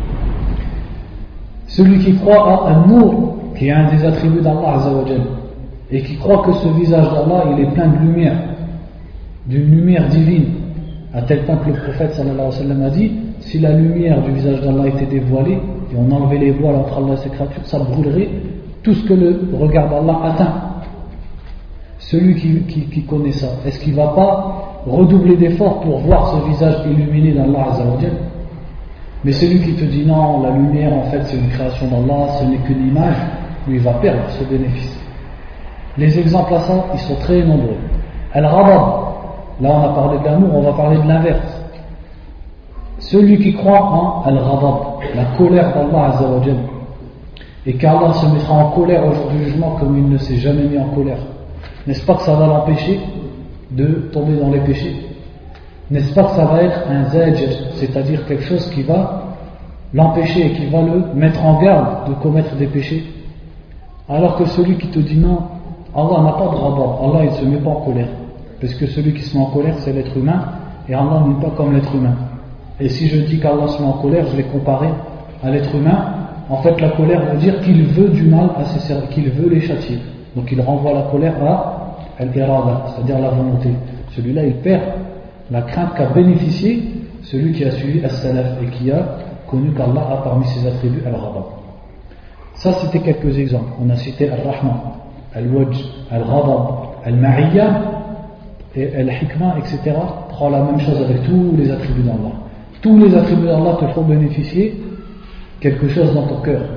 Celui qui croit en al-nur, qui est un des attributs d'Allah Azza wa Jalla, et qui croit que ce visage d'Allah il est plein de lumière, d'une lumière divine, à tel point que le prophète sallallahu alayhi wa sallam a dit, si la lumière du visage d'Allah était dévoilée et on enlevait les voiles entre Allah et ses créatures, ça brûlerait tout ce que le regard d'Allah atteint. Celui qui, qui, qui connaît ça, est-ce qu'il ne va pas redoubler d'efforts pour voir ce visage illuminé d'Allah Azza wa Jalla? Mais celui qui te dit non, la lumière en fait c'est une création d'Allah, ce n'est qu'une image, lui il va perdre ce bénéfice. Les exemples à ça, ils sont très nombreux. Al-Ghadab, là on a parlé de l'amour, on va parler de l'inverse. Celui qui croit en Al-Ghadab, la colère d'Allah Azza wa Jalla, et qu'Allah se mettra en colère au jour du jugement comme il ne s'est jamais mis en colère, n'est-ce pas que ça va l'empêcher de tomber dans les péchés? N'est-ce pas que ça va être un zajr, c'est-à-dire quelque chose qui va l'empêcher et qui va le mettre en garde de commettre des péchés? Alors que celui qui te dit non, Allah n'a pas de ghadab, Allah il ne se met pas en colère, parce que celui qui se met en colère c'est l'être humain, et Allah n'est pas comme l'être humain. Et si je dis qu'Allah se met en colère, je l'ai comparé à l'être humain. En fait, la colère veut dire qu'il veut du mal à ses serviteurs, qu'il veut les châtier. Donc il renvoie la colère à al-irada, c'est-à-dire la volonté. Celui-là, il perd la crainte qu'a bénéficié celui qui a suivi as-salaf et qui a connu qu'Allah a parmi ses attributs al-ghadab. Ça, c'était quelques exemples. On a cité al-rahman, al-wajh, al-ghadab, al-ma'iyya et al-hikmah, et cetera. Prends la même chose avec tous les attributs d'Allah. Tous les attributs d'Allah te font bénéficier quelque chose dans ton cœur.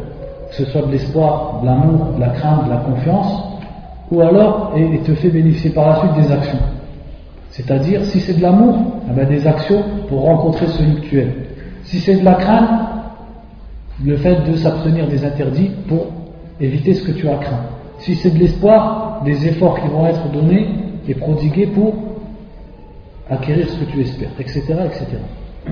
que ce soit de l'espoir, de l'amour, de la crainte, de la confiance, ou alors et, et te fait bénéficier par la suite des actions. C'est-à-dire, si c'est de l'amour, eh bien des actions pour rencontrer celui que tu aimes. Si c'est de la crainte, le fait de s'abstenir des interdits pour éviter ce que tu as craint. Si c'est de l'espoir, des efforts qui vont être donnés et prodigués pour acquérir ce que tu espères, et cetera, et cetera.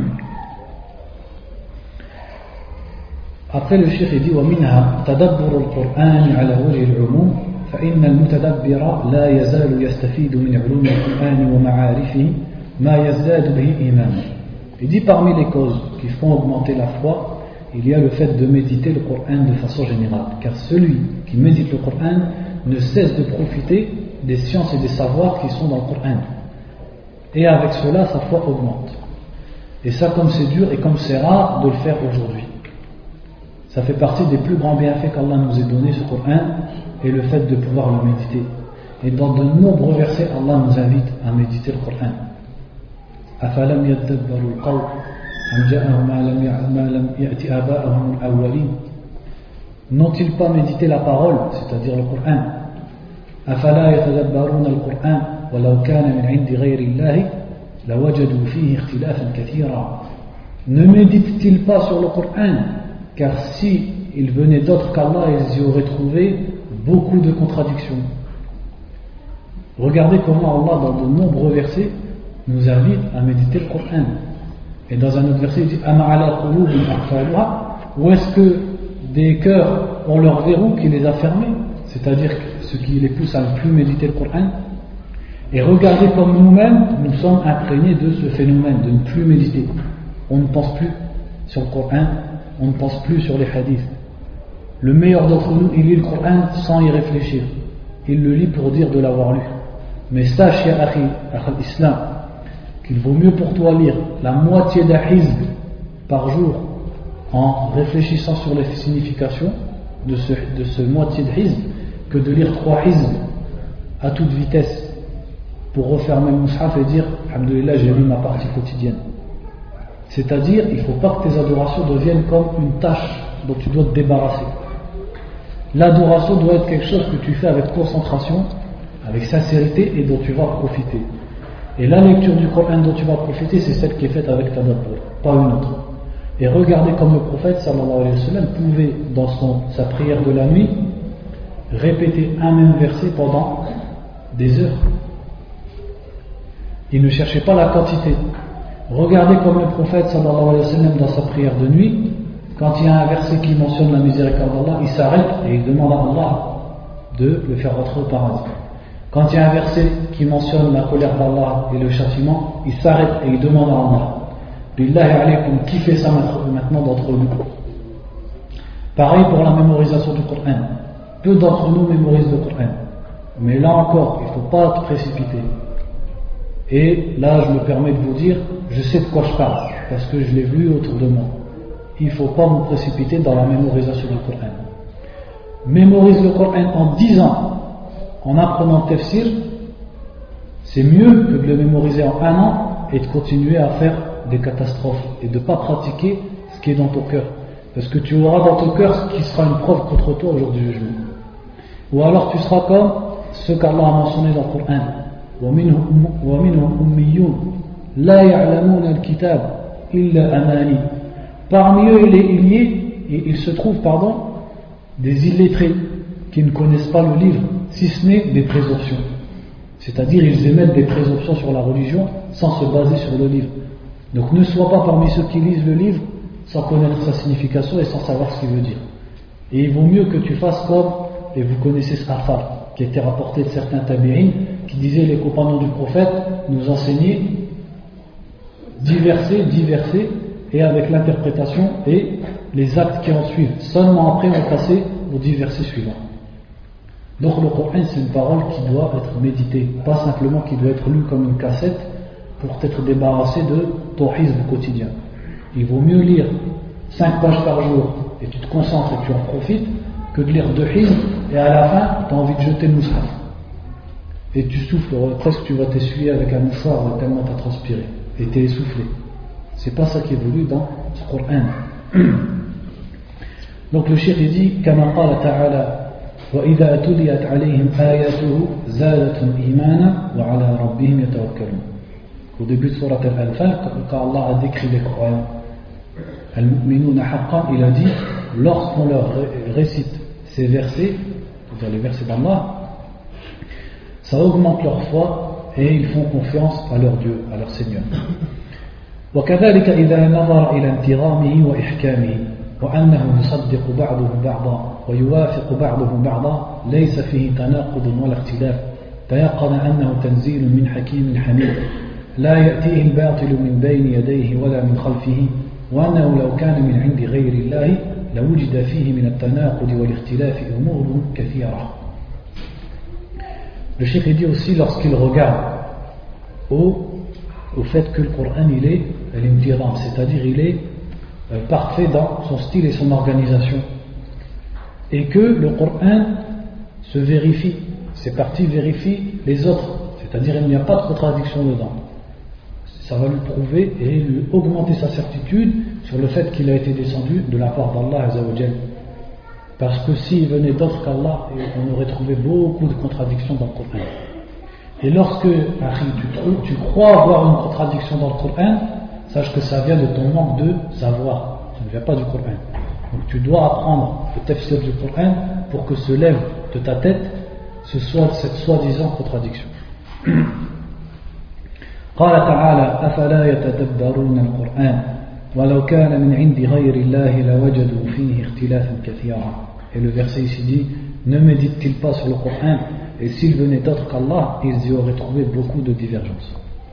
Après le cheikh dit ومنها تدبر القرآن على وجه العموم فإن المتدبر لا يزال يستفيد من علوم القرآن ومعارفه ما يزداد به إيمانا. Il dit parmi les causes qui font augmenter la foi, il y a le fait de méditer le Coran de façon générale, car celui qui médite le Coran ne cesse de profiter des sciences et des savoirs qui sont dans le Coran, et avec cela sa foi augmente. Et ça, comme c'est dur et comme c'est rare de le faire aujourd'hui, ça fait partie des plus grands bienfaits qu'Allah nous ait donné, ce Coran, et le fait de pouvoir le méditer. Et dans de nombreux versets, Allah nous invite à méditer le Coran. أفلم يدبروا القول أم جاءهم ما لم يأت آباءهم الأولين. N'ont-ils pas médité la parole, c'est-à-dire le Coran? أفلا يتدبرون القرآن ولو كان من عند غير الله لوجدوا فيه اختلافا كثيرا. Ne méditent-ils pas sur le Coran? Car si il venait d'autres qu'Allah, ils y auraient trouvé beaucoup de contradictions. Regardez comment Allah, dans de nombreux versets, nous invite à méditer le Coran. Et dans un autre verset, il dit Ama'ala qulubin aqfaluha. Où est-ce que des cœurs ont leur verrou qui les a fermés, c'est-à-dire ce qui les pousse à ne plus méditer le Coran. Et regardez comme nous-mêmes, nous sommes imprégnés de ce phénomène de ne plus méditer. On ne pense plus sur le Coran, on ne pense plus sur les hadiths. Le meilleur d'entre nous, il lit le Coran sans y réfléchir. Il le lit pour dire de l'avoir lu. Mais sache, ya akhi, akhi l'islam, qu'il vaut mieux pour toi lire la moitié d'un hizb par jour en réfléchissant sur les significations de ce, de ce moitié de hizb que de lire trois hizb à toute vitesse pour refermer le mushaf et dire alhamdoulilah, j'ai lu ma partie quotidienne. C'est-à-dire, il ne faut pas que tes adorations deviennent comme une tâche dont tu dois te débarrasser. L'adoration doit être quelque chose que tu fais avec concentration, avec sincérité et dont tu vas profiter. Et la lecture du Coran dont tu vas profiter, c'est celle qui est faite avec tadabbur, pas une autre. Et regardez comme le prophète sallallahu alayhi wa sallam pouvait, dans son, sa prière de la nuit, répéter un même verset pendant des heures. Il ne cherchait pas la quantité. Regardez comme le prophète sallallahu alayhi wa sallam dans sa prière de nuit, quand il y a un verset qui mentionne la miséricorde d'Allah, il s'arrête et il demande à Allah de le faire rentrer au paradis. Quand il y a un verset qui mentionne la colère d'Allah et le châtiment, il s'arrête et il demande à Allah. Billahi alaykum, qui fait ça maintenant d'entre nous? Pareil pour la mémorisation du Coran. Peu d'entre nous mémorisent le Coran. Mais là encore, il ne faut pas te précipiter. Et là, je me permets de vous dire, je sais de quoi je parle, parce que je l'ai vu autour de moi. Il ne faut pas vous précipiter dans la mémorisation du Coran. Mémorise le Coran en dix ans. En apprenant le tafsir, c'est mieux que de le mémoriser en un an et de continuer à faire des catastrophes et de ne pas pratiquer ce qui est dans ton cœur. Parce que tu auras dans ton cœur ce qui sera une preuve contre toi au jour du jugement. Ou alors tu seras comme ce qu'Allah a mentionné dans le Coran. وَمِنْهُمْ أُمِّيُّونَ لَا يَعْلَمُونَ الْكِتَابَ إِلَّا أَمَانِي. Parmi eux, il, est, il, y est, il se trouve pardon, des illettrés qui ne connaissent pas le livre, si ce n'est des présomptions. C'est-à-dire, ils émettent des présomptions sur la religion sans se baser sur le livre. Donc, ne sois pas parmi ceux qui lisent le livre sans connaître sa signification et sans savoir ce qu'il veut dire. Et il vaut mieux que tu fasses comme, et vous connaissez ce Afar, qui a été rapporté de certains tabi'in, qui disaient les compagnons du prophète nous enseignaient dix versets, dix versets, et avec l'interprétation et les actes qui en suivent. Seulement après, on passait aux dix versets suivants. Donc le Coran, c'est une parole qui doit être méditée, pas simplement qui doit être lue comme une cassette pour t'être débarrassé de ton hizb quotidien. Il vaut mieux lire cinq pages par jour et tu te concentres et tu en profites que de lire deux hizb et à la fin tu as envie de jeter le mushaf et tu souffles, presque tu vas t'essuyer avec un mouchoir tellement tu as transpiré et tu es essoufflé. C'est pas ça qui est voulu dans ce Coran. Donc le cheikh il dit كما قال تعالى وإذا تليت عليهم آياته زادتهم إيمانا وعلى ربهم يتوكلون. Au début de Surat Al-Anfal, quand Allah a décrit les croyants, Al-Mu'minuna haqqan, il a dit lorsqu'on leur récite ces versets, c'est-à-dire les versets d'Allah, ça augmente leur foi et ils font confiance à leur Dieu, à leur Seigneur. وكذلك إذا نظر إلى انتظامه وإحكامه وأنه يصدق بعضه بعضا ويوافق بعضه بعضا ليس فيه تناقض ولا اختلاف تيقن أنه تنزيل من حكيم حميد لا يأتيه الباطل من بين يديه ولا من خلفه وأنه لو كان من عند غير الله لوجد فيه من التناقض والاختلاف أمور كثيرة. Le cheikh dit aussi lorsqu'il regarde au, au fait que le Coran il est l'imtiram, c'est-à-dire il est euh, parfait dans son style et son organisation et que le Coran se vérifie, ces parties vérifient les autres, c'est-à-dire il n'y a pas de contradiction dedans. Ça va lui prouver et lui augmenter sa certitude sur le fait qu'il a été descendu de la part d'Allah Azza wa Jal. Parce que s'il venait d'autre qu'Allah, on aurait trouvé beaucoup de contradictions dans le Coran. Et lorsque tu, trouves, tu crois avoir une contradiction dans le Coran, sache que ça vient de ton manque de savoir, ça ne vient pas du Coran. Donc tu dois apprendre le tafsir du Coran pour que se lève de ta tête ce soit cette soi-disant contradiction. قال تعالى أفلا يتدبرون القرآن ولو كان من عند غير الله لوجدوا فيه اختلافا كثيرا. Et le verset ici dit ne médite-t-il pas sur le Coran et s'il venait d'autre qu'Allah ils y auraient trouvé beaucoup de divergences.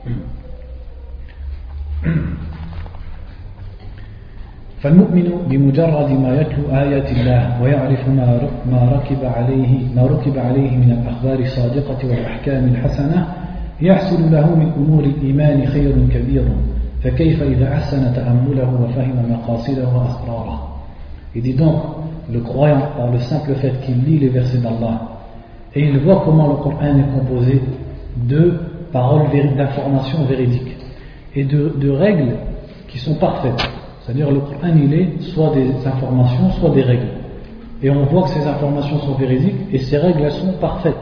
فالمؤمن بمجرد ما يتلو آيات الله ويعرف ما ما ركب عليه ما ركب عليه من الأخبار الصادقة والأحكام الحسنة يحصل له من أمور الإيمان خير كبير فكيف إذا أحسن تأمله وفهم مقاصده وأسراره. Il dit donc le croyant par le simple fait qu'il lit les versets d'Allah et il voit comment le Coran est composé de paroles d'informations véridiques et de, de règles qui sont parfaites. C'est-à-dire le Coran il est soit des informations soit des règles et on voit que ces informations sont véridiques et ces règles elles sont parfaites.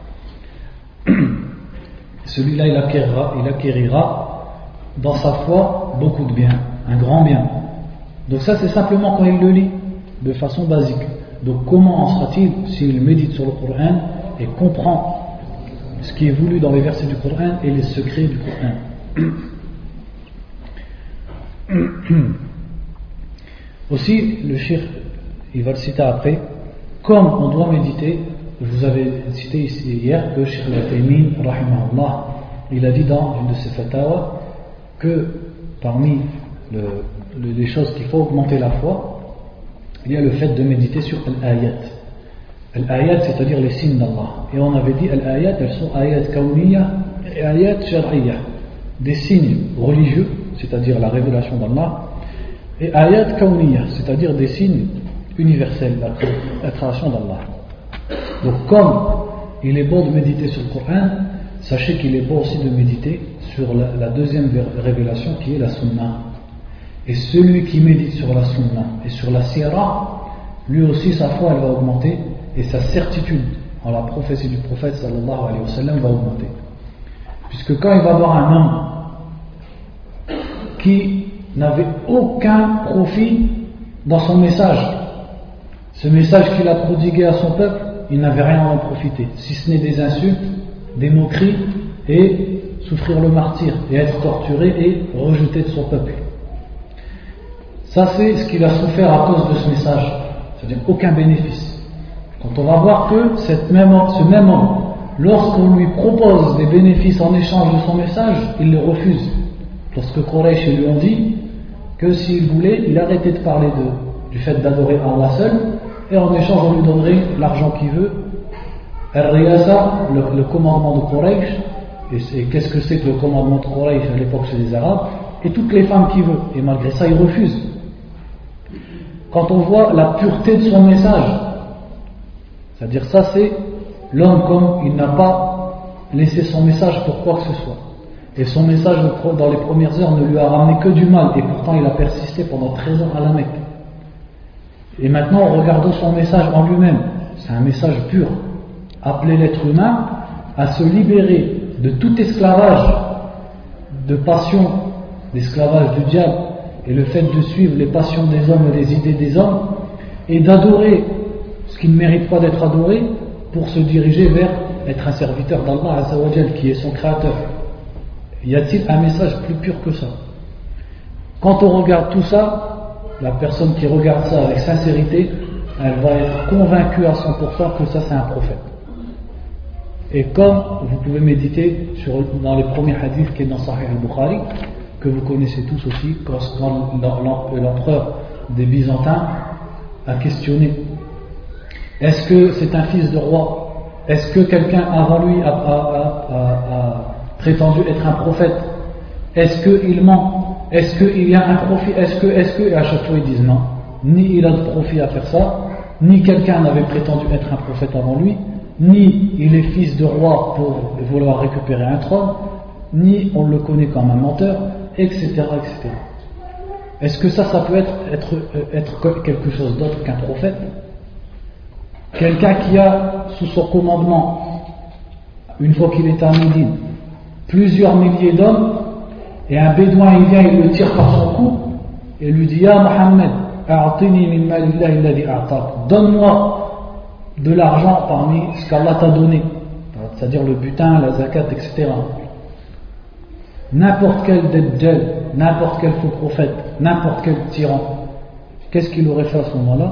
Celui-là il acquérira, il acquérira dans sa foi beaucoup de bien, un grand bien. Donc ça c'est simplement quand il le lit de façon basique. Donc comment en sera-t-il s'il médite sur le Coran et comprend ce qui est voulu dans les versets du Coran et les secrets du Coran. Aussi le cheikh il va le citer après, comme on doit méditer. Je vous avais cité ici hier que Cheikh Al-Uthaymin rahimahullah il a dit dans une de ses fatawa que parmi le, le, les choses qu'il faut augmenter la foi il y a le fait de méditer sur al-ayat. Al-ayat c'est-à-dire les signes d'Allah, et on avait dit al-ayat elles sont ayat kawniyya et ayat shar'iyya, des signes religieux c'est-à-dire la révélation d'Allah, et ayat kawniyya c'est-à-dire des signes universels, la, la création d'Allah. Donc comme il est bon de méditer sur le Coran, sachez qu'il est bon aussi de méditer sur la, la deuxième révélation qui est la Sunna. Et celui qui médite sur la Sunna et sur la Sira, lui aussi sa foi elle va augmenter et sa certitude en la prophétie du prophète sallallahu alayhi wa sallam va augmenter. Puisque quand il va voir un homme qui n'avait aucun profit dans son message, ce message qu'il a prodigué à son peuple, il n'avait rien à en profiter, si ce n'est des insultes, des moqueries et souffrir le martyre et être torturé et rejeté de son peuple. Ça c'est ce qu'il a souffert à cause de ce message, c'est-à-dire aucun bénéfice. Quand on va voir que cette même, ce même homme, lorsqu'on lui propose des bénéfices en échange de son message, il les refuse. Lorsque Quraysh lui ont dit que s'il voulait, il arrêtait de parler de, du fait d'adorer Allah seul, et en échange on lui donnerait l'argent qu'il veut. Al-Riyasa, le, le commandement de Quraysh, et c'est, qu'est-ce que c'est que le commandement de Quraysh à l'époque chez les Arabes, et toutes les femmes qu'il veut, et malgré ça il refuse. Quand on voit la pureté de son message, c'est-à-dire ça c'est l'homme comme il n'a pas laissé son message pour quoi que ce soit, et son message dans les premières heures ne lui a ramené que du mal, et pourtant il a persisté pendant treize ans à la Mecque. Et maintenant, regardons son message en lui-même. C'est un message pur. Appeler l'être humain à se libérer de tout esclavage de passion, l'esclavage du diable et le fait de suivre les passions des hommes et les idées des hommes, et d'adorer ce qui ne mérite pas d'être adoré pour se diriger vers être un serviteur d'Allah Azza wa Jal, qui est son créateur. Y a-t-il un message plus pur que ça? Quand on regarde tout ça, la personne qui regarde ça avec sincérité, elle va être convaincue à cent pour cent que ça c'est un prophète. Et comme vous pouvez méditer sur, dans les premiers hadiths qui est dans Sahih al-Bukhari, que vous connaissez tous aussi, quand l'empereur des Byzantins a questionné: est-ce que c'est un fils de roi? Est-ce que quelqu'un avant lui a, a, a, a prétendu être un prophète? Est-ce qu'il ment? Est-ce qu'il y a un profit? Est-ce que, est-ce que, et à chaque fois ils disent non. Ni il a de profit à faire ça, ni quelqu'un n'avait prétendu être un prophète avant lui, ni il est fils de roi pour vouloir récupérer un trône, ni on le connaît comme un menteur, et cetera, et cetera. Est-ce que ça, ça peut être, être, être quelque chose d'autre qu'un prophète? Quelqu'un qui a sous son commandement, une fois qu'il est à Médine, plusieurs milliers d'hommes, et un bédouin il vient, il le tire par son cou et lui dit: Ya Mohammed, a'tini min malillahi alladhi a'tak, donne-moi de l'argent parmi ce qu'Allah t'a donné, c'est-à-dire le butin, la zakat, et cetera. N'importe quel dajjal, n'importe quel faux prophète, n'importe quel tyran, qu'est-ce qu'il aurait fait à ce moment-là?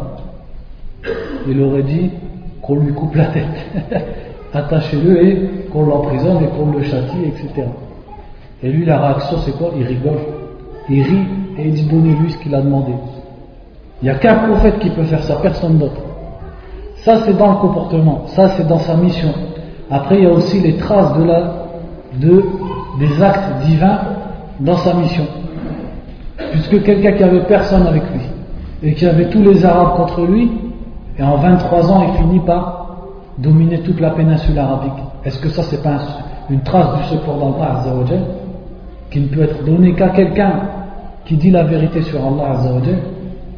Il aurait dit qu'on lui coupe la tête, attachez-le et qu'on l'emprisonne et qu'on le châtie, et cetera. Et lui, la réaction, c'est quoi? Il rigole, il rit et il dit: donnez-lui ce qu'il a demandé. Il n'y a qu'un prophète qui peut faire ça, personne d'autre. Ça, c'est dans le comportement, ça, c'est dans sa mission. Après, il y a aussi les traces de la, de, des actes divins dans sa mission. Puisque quelqu'un qui avait personne avec lui et qui avait tous les Arabes contre lui, et en vingt-trois ans, il finit par dominer toute la péninsule arabique. Est-ce que ça, c'est pas un, une trace du secours d'Allah Azza wa Jal, qui ne peut être donné qu'à quelqu'un qui dit la vérité sur Allah Azza wa Jal?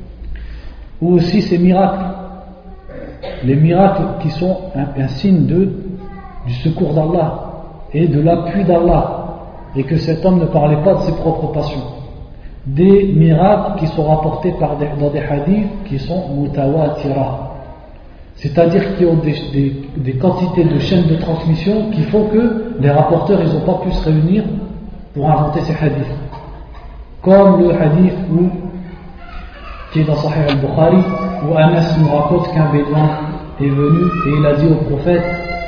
Ou aussi ces miracles, les miracles qui sont un, un signe de, du secours d'Allah et de l'appui d'Allah, et que cet homme ne parlait pas de ses propres passions. Des miracles qui sont rapportés par des, dans des hadiths qui sont mutawatira, c'est-à-dire qui ont des, des, des quantités de chaînes de transmission qui font que les rapporteurs ils n'ont pas pu se réunir pour inventer ces hadiths. Comme le hadith où, qui est dans Sahih al-Bukhari, où Anas nous raconte qu'un bédouin est venu et il a dit au prophète: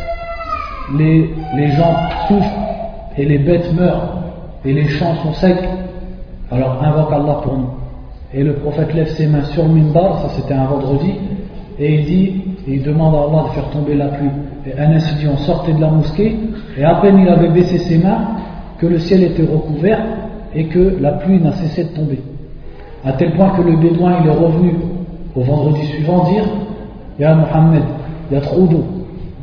les, les gens souffrent et les bêtes meurent et les champs sont secs, alors invoque Allah pour nous. Et le prophète lève ses mains sur le minbar, ça c'était un vendredi, et il dit, et il demande à Allah de faire tomber la pluie. Et Anas dit: on sortait de la mosquée et à peine il avait baissé ses mains que le ciel était recouvert et que la pluie n'a cessé de tomber, à tel point que le bédouin il est revenu au vendredi suivant dire: Ya Mohammed, il y a trop d'eau.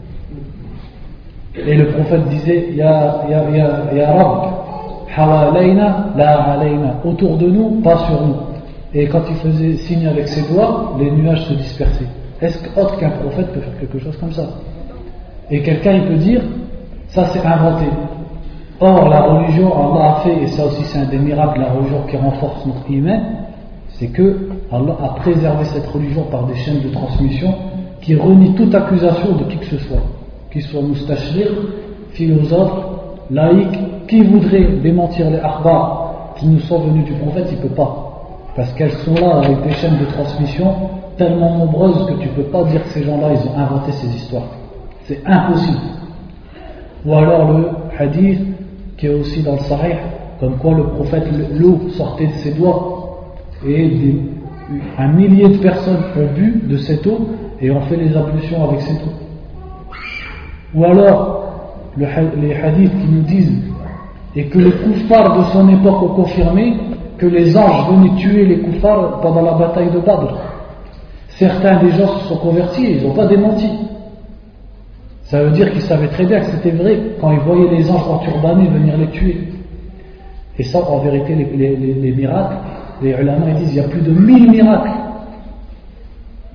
Et le prophète disait: Ya, ya, ya, ya Rabb, hawalayna la alayna, autour de nous, pas sur nous. Et quand il faisait signe avec ses doigts, les nuages se dispersaient. Est-ce qu'autre qu'un prophète peut faire quelque chose comme ça? Et quelqu'un il peut dire: ça c'est inventé. Or la religion, Allah a fait, et ça aussi c'est un des miracles de la religion qui renforce notre iman, c'est que Allah a préservé cette religion par des chaînes de transmission qui renient toute accusation de qui que ce soit, qu'il soit moustachir, philosophe, laïque, qui voudrait démentir les akhbar qui nous sont venus du prophète, il ne peut pas, parce qu'elles sont là avec des chaînes de transmission tellement nombreuses que tu ne peux pas dire que ces gens-là ils ont inventé ces histoires, c'est impossible. Ou alors le hadith qui est aussi dans le Sahih, comme quoi le prophète, l'eau sortait de ses doigts et des, un millier de personnes ont bu de cette eau et ont fait les ablutions avec cette eau. Ou alors le, les hadiths qui nous disent, et que les koufars de son époque ont confirmé, que les anges venaient tuer les koufars pendant la bataille de Badr. Certains des gens se sont convertis et ils n'ont pas démenti. Ça veut dire qu'ils savaient très bien que c'était vrai quand ils voyaient les anges enturbanés venir les tuer. Et ça, en vérité, les, les, les, les miracles, les ulama ils disent il y a plus de mille miracles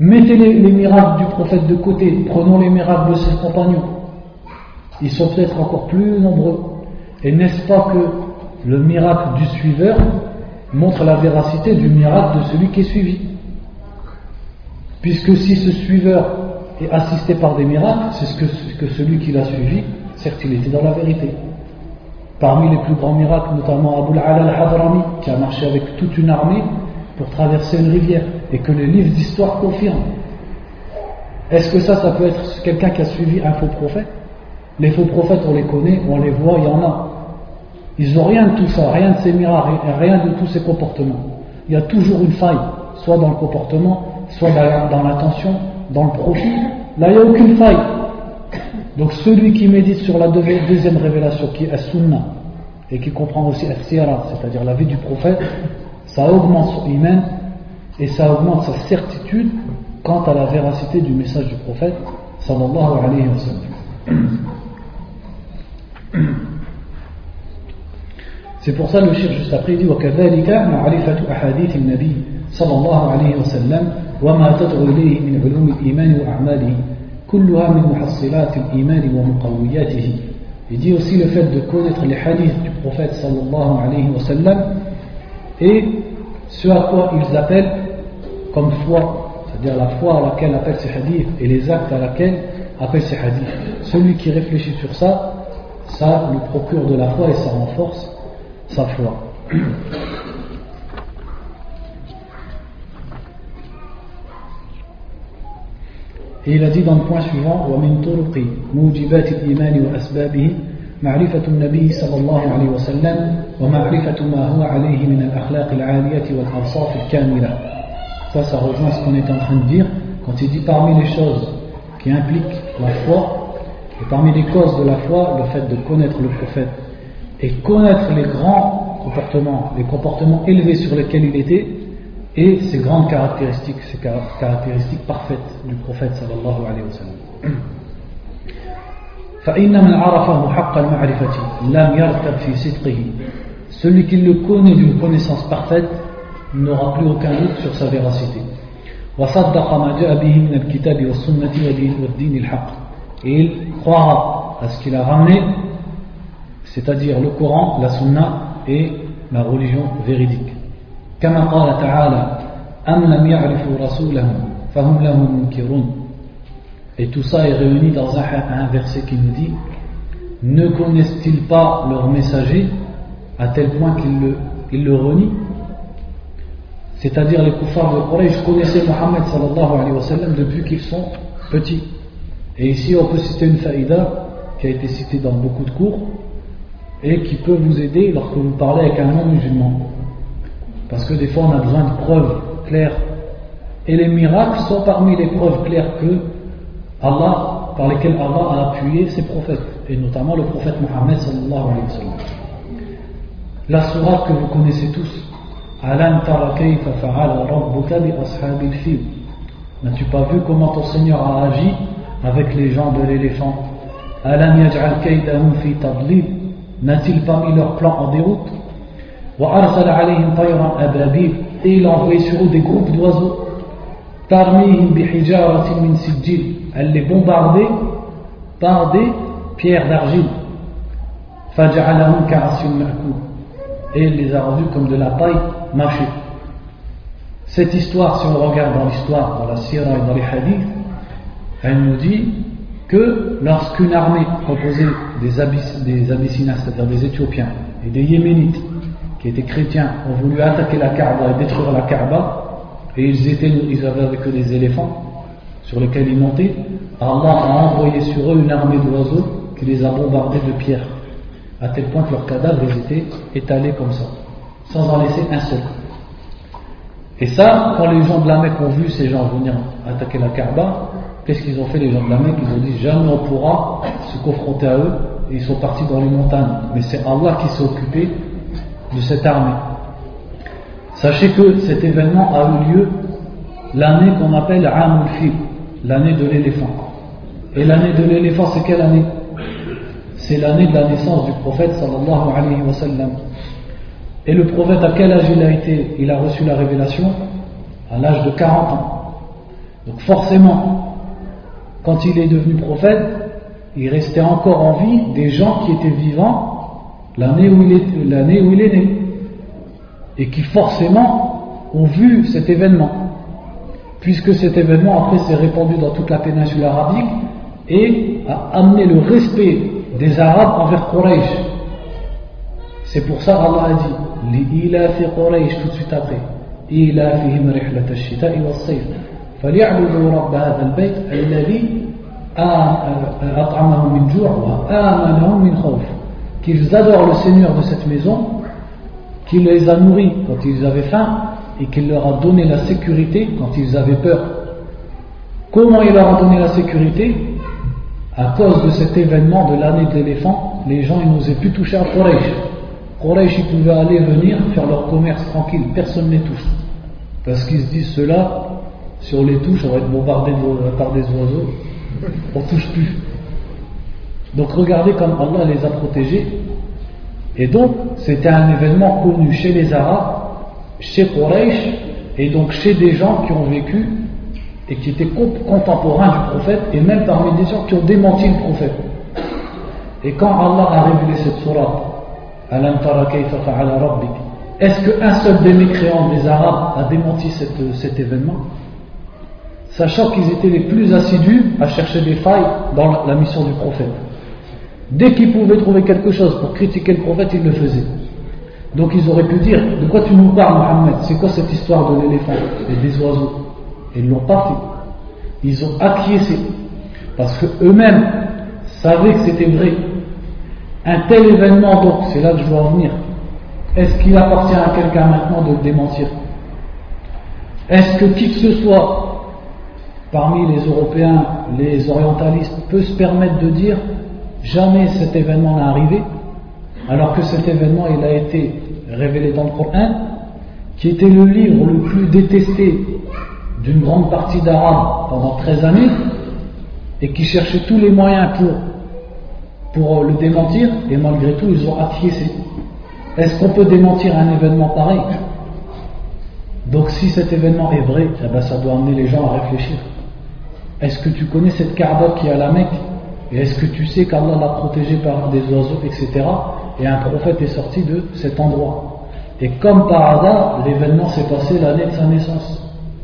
Mettez les, les miracles du prophète de côté, prenons les miracles de ses compagnons. Ils sont peut-être encore plus nombreux. Et n'est-ce pas que le miracle du suiveur montre la véracité du miracle de celui qui est suivi? Puisque si ce suiveur est assisté par des miracles, c'est ce que, ce que celui qui l'a suivi, certes il était dans la vérité. Parmi les plus grands miracles, notamment Abu al-Ala al-Hadrami, qui a marché avec toute une armée pour traverser une rivière, et que les livres d'histoire confirment. Est-ce que ça, ça peut être quelqu'un qui a suivi un faux prophète? Les faux prophètes, on les connaît, on les voit, il y en a. Ils n'ont rien de tout ça, rien de ces miracles, rien de tous ces comportements. Il y a toujours une faille, soit dans le comportement, soit dans l'attention, dans le profil. Là, il n'y a aucune faille. Donc celui qui médite sur la deuxième révélation, qui est As-Sunnah, et qui comprend aussi As-Sira, c'est-à-dire la vie du prophète, ça augmente son iman et ça augmente sa certitude quant à la véracité du message du prophète sallallahu alayhi wa sallam. C'est pour ça le cheikh juste après dit وَكَذَلِكَ مَعْرِفَةُ أَحَادِيثِ النَّبِيِّ صلى الله عليه وسلم وما تدعو إليه من علوم الإيمان وأعماله كلها من محصلات الإيمان ومقوياته. Il dit aussi le fait de connaître les hadiths du prophète sallallahu alayhi wa sallam et ce à quoi ils appellent comme foi, c'est-à-dire la foi à laquelle appellent ces hadiths et les actes à laquelle appellent ces hadiths. Celui qui réfléchit sur ça, ça lui procure de la foi et ça renforce sa foi. Et il a dit dans le point suivant وَمِن طُرُقِ مُوجِبَاتِ الْإِيمَانِ وَأَسْبَابِهِ معرفة النبي صلى الله عليه وسلم ومعرفة ما هو عليه من الأخلاق العالية والأوصاف الكاملة. Ça, ça rejoint ce qu'on est en train de dire quand il dit parmi les choses qui impliquent la foi et parmi les causes de la foi, le fait de connaître le prophète et connaître les grands comportements, les comportements élevés sur lesquels il était et ses grandes caractéristiques, ses caractéristiques parfaites du prophète sallallahu alayhi wa sallam. فإن من عرفه حق المعرفة لم يرتب في صدقه. Celui qui le connaît d'une connaissance parfaite n'aura plus aucun doute sur sa véracité. وصدق ما جاء به من الكتاب والسنة والدين الحق. Et il croira à ce qu'il a ramené, c'est-à-dire le Coran, la Sunna et la religion véridique. كما قال تعالى أم لم يعرفوا رسولهم فهم له منكرون. Et tout ça est réuni dans un, un verset qui nous dit: ne connaissent-ils pas leur messager à tel point qu'ils le, ils le renient? C'est-à-dire les kuffars de Quraysh connaissaient Mohammed sallallahu alayhi wa sallam depuis qu'ils sont petits. Et ici on peut citer une faïda qui a été citée dans beaucoup de cours et qui peut vous aider lorsque vous parlez avec un non-musulman. Parce que des fois on a besoin de preuves claires. Et les miracles sont parmi les preuves claires que Allah, par lesquels Allah a appuyé ses prophètes, et notamment le prophète Mohammed sallallahu alayhi wa sallam. La sourate que vous connaissez tous, Alam tara kayfa fa'ala rabbuka bi ashabil fil. N'as-tu pas vu comment ton Seigneur a agi avec les gens de l'éléphant? Alam yaj'al kaydahum fi tadlil. N'a-t-il pas mis leur plan en déroute? Wa arsala alayhim tayran ababil. Et il a envoyé sur eux des groupes d'oiseaux. Tarmihim bi hijaratin min sijil. Elle les bombardait par des pierres d'argile. Faj'alahum ka'asin ma'kul. Et il les a rendus comme de la paille mâchée. Cette histoire, si on regarde dans l'histoire, dans la sira et dans les hadiths, elle nous dit que lorsqu'une armée composée des, Abyss, des Abyssiniens, c'est-à-dire des Éthiopiens et des Yéménites, qui étaient chrétiens, ont voulu attaquer la Kaaba et détruire la Kaaba, et ils, étaient, ils avaient avec eux des éléphants sur lesquels ils montaient, Allah a envoyé sur eux une armée d'oiseaux qui les a bombardés de pierres, à tel point que leurs cadavres ils étaient étalés comme ça, sans en laisser un seul. Et ça, quand les gens de la Mecque ont vu ces gens venir attaquer la Kaaba, qu'est-ce qu'ils ont fait les gens de la Mecque? Ils ont dit jamais on pourra se confronter à eux, et ils sont partis dans les montagnes. Mais c'est Allah qui s'est occupé de cette armée. Sachez que cet événement a eu lieu l'année qu'on appelle Amul Fil, l'année de l'éléphant. Et l'année de l'éléphant, c'est quelle année? C'est l'année de la naissance du prophète sallallahu alayhi wa sallam. Et le prophète, à quel âge il a été? Il a reçu la révélation à l'âge de quarante ans. Donc forcément, quand il est devenu prophète, il restait encore en vie des gens qui étaient vivants l'année où il est, l'année où il est né, et qui forcément ont vu cet événement, puisque cet événement après s'est répandu dans toute la péninsule arabique et a amené le respect des Arabes envers Quraysh. C'est pour ça Allah a dit Li-ilafi Quraysh tout de suite après, Ilafihim rihlat ash-shita'i was-sayf falyabudu rabb hadha al-bayt alladhi at'amahum min ju' wa amanahum min khawf, qu'ils adorent le Seigneur de cette maison, qui les a nourris quand ils avaient faim et qui leur a donné la sécurité quand ils avaient peur. Comment il leur a donné la sécurité? À cause de cet événement de l'année de l'éléphant, les gens ils n'osaient plus toucher à Quraysh. Quraysh ils pouvaient aller venir faire leur commerce tranquille, personne ne les touche, parce qu'ils se disent ceux-là, si on les touche on va être bombardé par des oiseaux, on ne touche plus. Donc regardez comme Allah les a protégés. Et donc c'était un événement connu chez les Arabes, chez Quraysh, et donc chez des gens qui ont vécu et qui étaient contemporains du prophète, et même parmi des gens qui ont démenti le prophète. Et quand Allah a révélé cette sourate, Alam tara kayfa fa'ala rabbik, est-ce qu'un seul des mécréants des Arabes a démenti cette, cet événement, sachant qu'ils étaient les plus assidus à chercher des failles dans la, la mission du prophète. Dès qu'ils pouvaient trouver quelque chose pour critiquer le prophète, ils le faisaient. Donc ils auraient pu dire, de quoi tu nous parles Mohammed, c'est quoi cette histoire de l'éléphant et des oiseaux? Et ils ne l'ont pas fait. Ils ont acquiescé, parce qu'eux-mêmes savaient que c'était vrai. Un tel événement, donc, c'est là que je veux en venir. Est-ce qu'il appartient à quelqu'un maintenant de le démentir? Est-ce que qui que ce soit parmi les Européens, les orientalistes, peut se permettre de dire jamais cet événement n'est arrivé, alors que cet événement il a été révélé dans le Coran, qui était le livre le plus détesté d'une grande partie d'Arabes pendant treize années, et qui cherchait tous les moyens pour, pour le démentir, et malgré tout ils ont acquiescé. Est-ce qu'on peut démentir un événement pareil? Donc si cet événement est vrai, eh ben, ça doit amener les gens à réfléchir. Est-ce que tu connais cette Kaaba qui est à la Mecque? Et est-ce que tu sais qu'Allah l'a protégé par des oiseaux, et cetera. Et un prophète est sorti de cet endroit. Et comme par hasard, l'événement s'est passé l'année de sa naissance.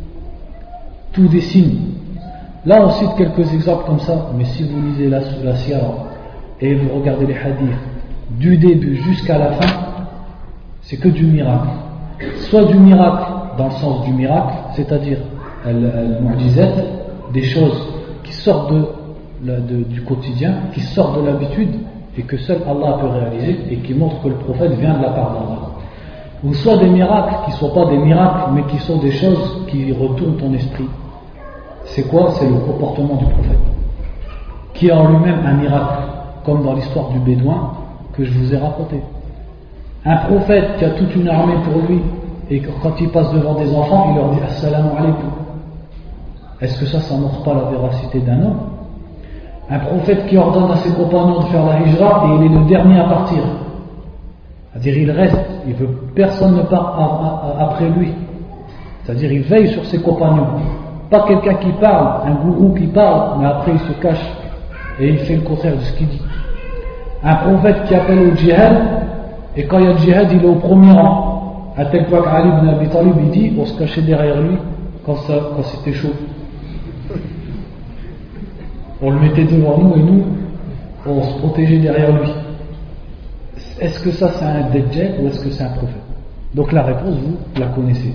Tout des signes. Là on cite quelques exemples comme ça, mais si vous lisez la, la Siyara et vous regardez les hadiths du début jusqu'à la fin, c'est que du miracle. Soit du miracle dans le sens du miracle, c'est-à-dire al-mu'jizat, des choses qui sortent de, de, du quotidien, qui sortent de l'habitude et que seul Allah peut réaliser et qui montrent que le prophète vient de la part d'Allah. Ou soit des miracles qui ne sont pas des miracles mais qui sont des choses qui retournent ton esprit. C'est quoi? C'est le comportement du prophète, qui est en lui-même un miracle, comme dans l'histoire du bédouin que je vous ai raconté. Un prophète qui a toute une armée pour lui et que quand il passe devant des enfants, il leur dit Assalamu alaikum. Est-ce que ça, ça ne montre pas la véracité d'un homme? Un prophète qui ordonne à ses compagnons de faire la hijra et il est le dernier à partir. C'est-à-dire il reste, il veut personne ne part après lui. C'est-à-dire il veille sur ses compagnons. Pas quelqu'un qui parle, un gourou qui parle, mais après il se cache et il fait le contraire de ce qu'il dit. Un prophète qui appelle au djihad, et quand il y a le djihad, il est au premier rang. À tel point qu'Ali ibn Abi Talib il dit, on se cachait derrière lui quand, ça, quand c'était chaud. On le mettait devant nous et nous, on se protégeait derrière lui. Est-ce que ça c'est un dajjal ou est-ce que c'est un prophète? Donc la réponse, vous la connaissez.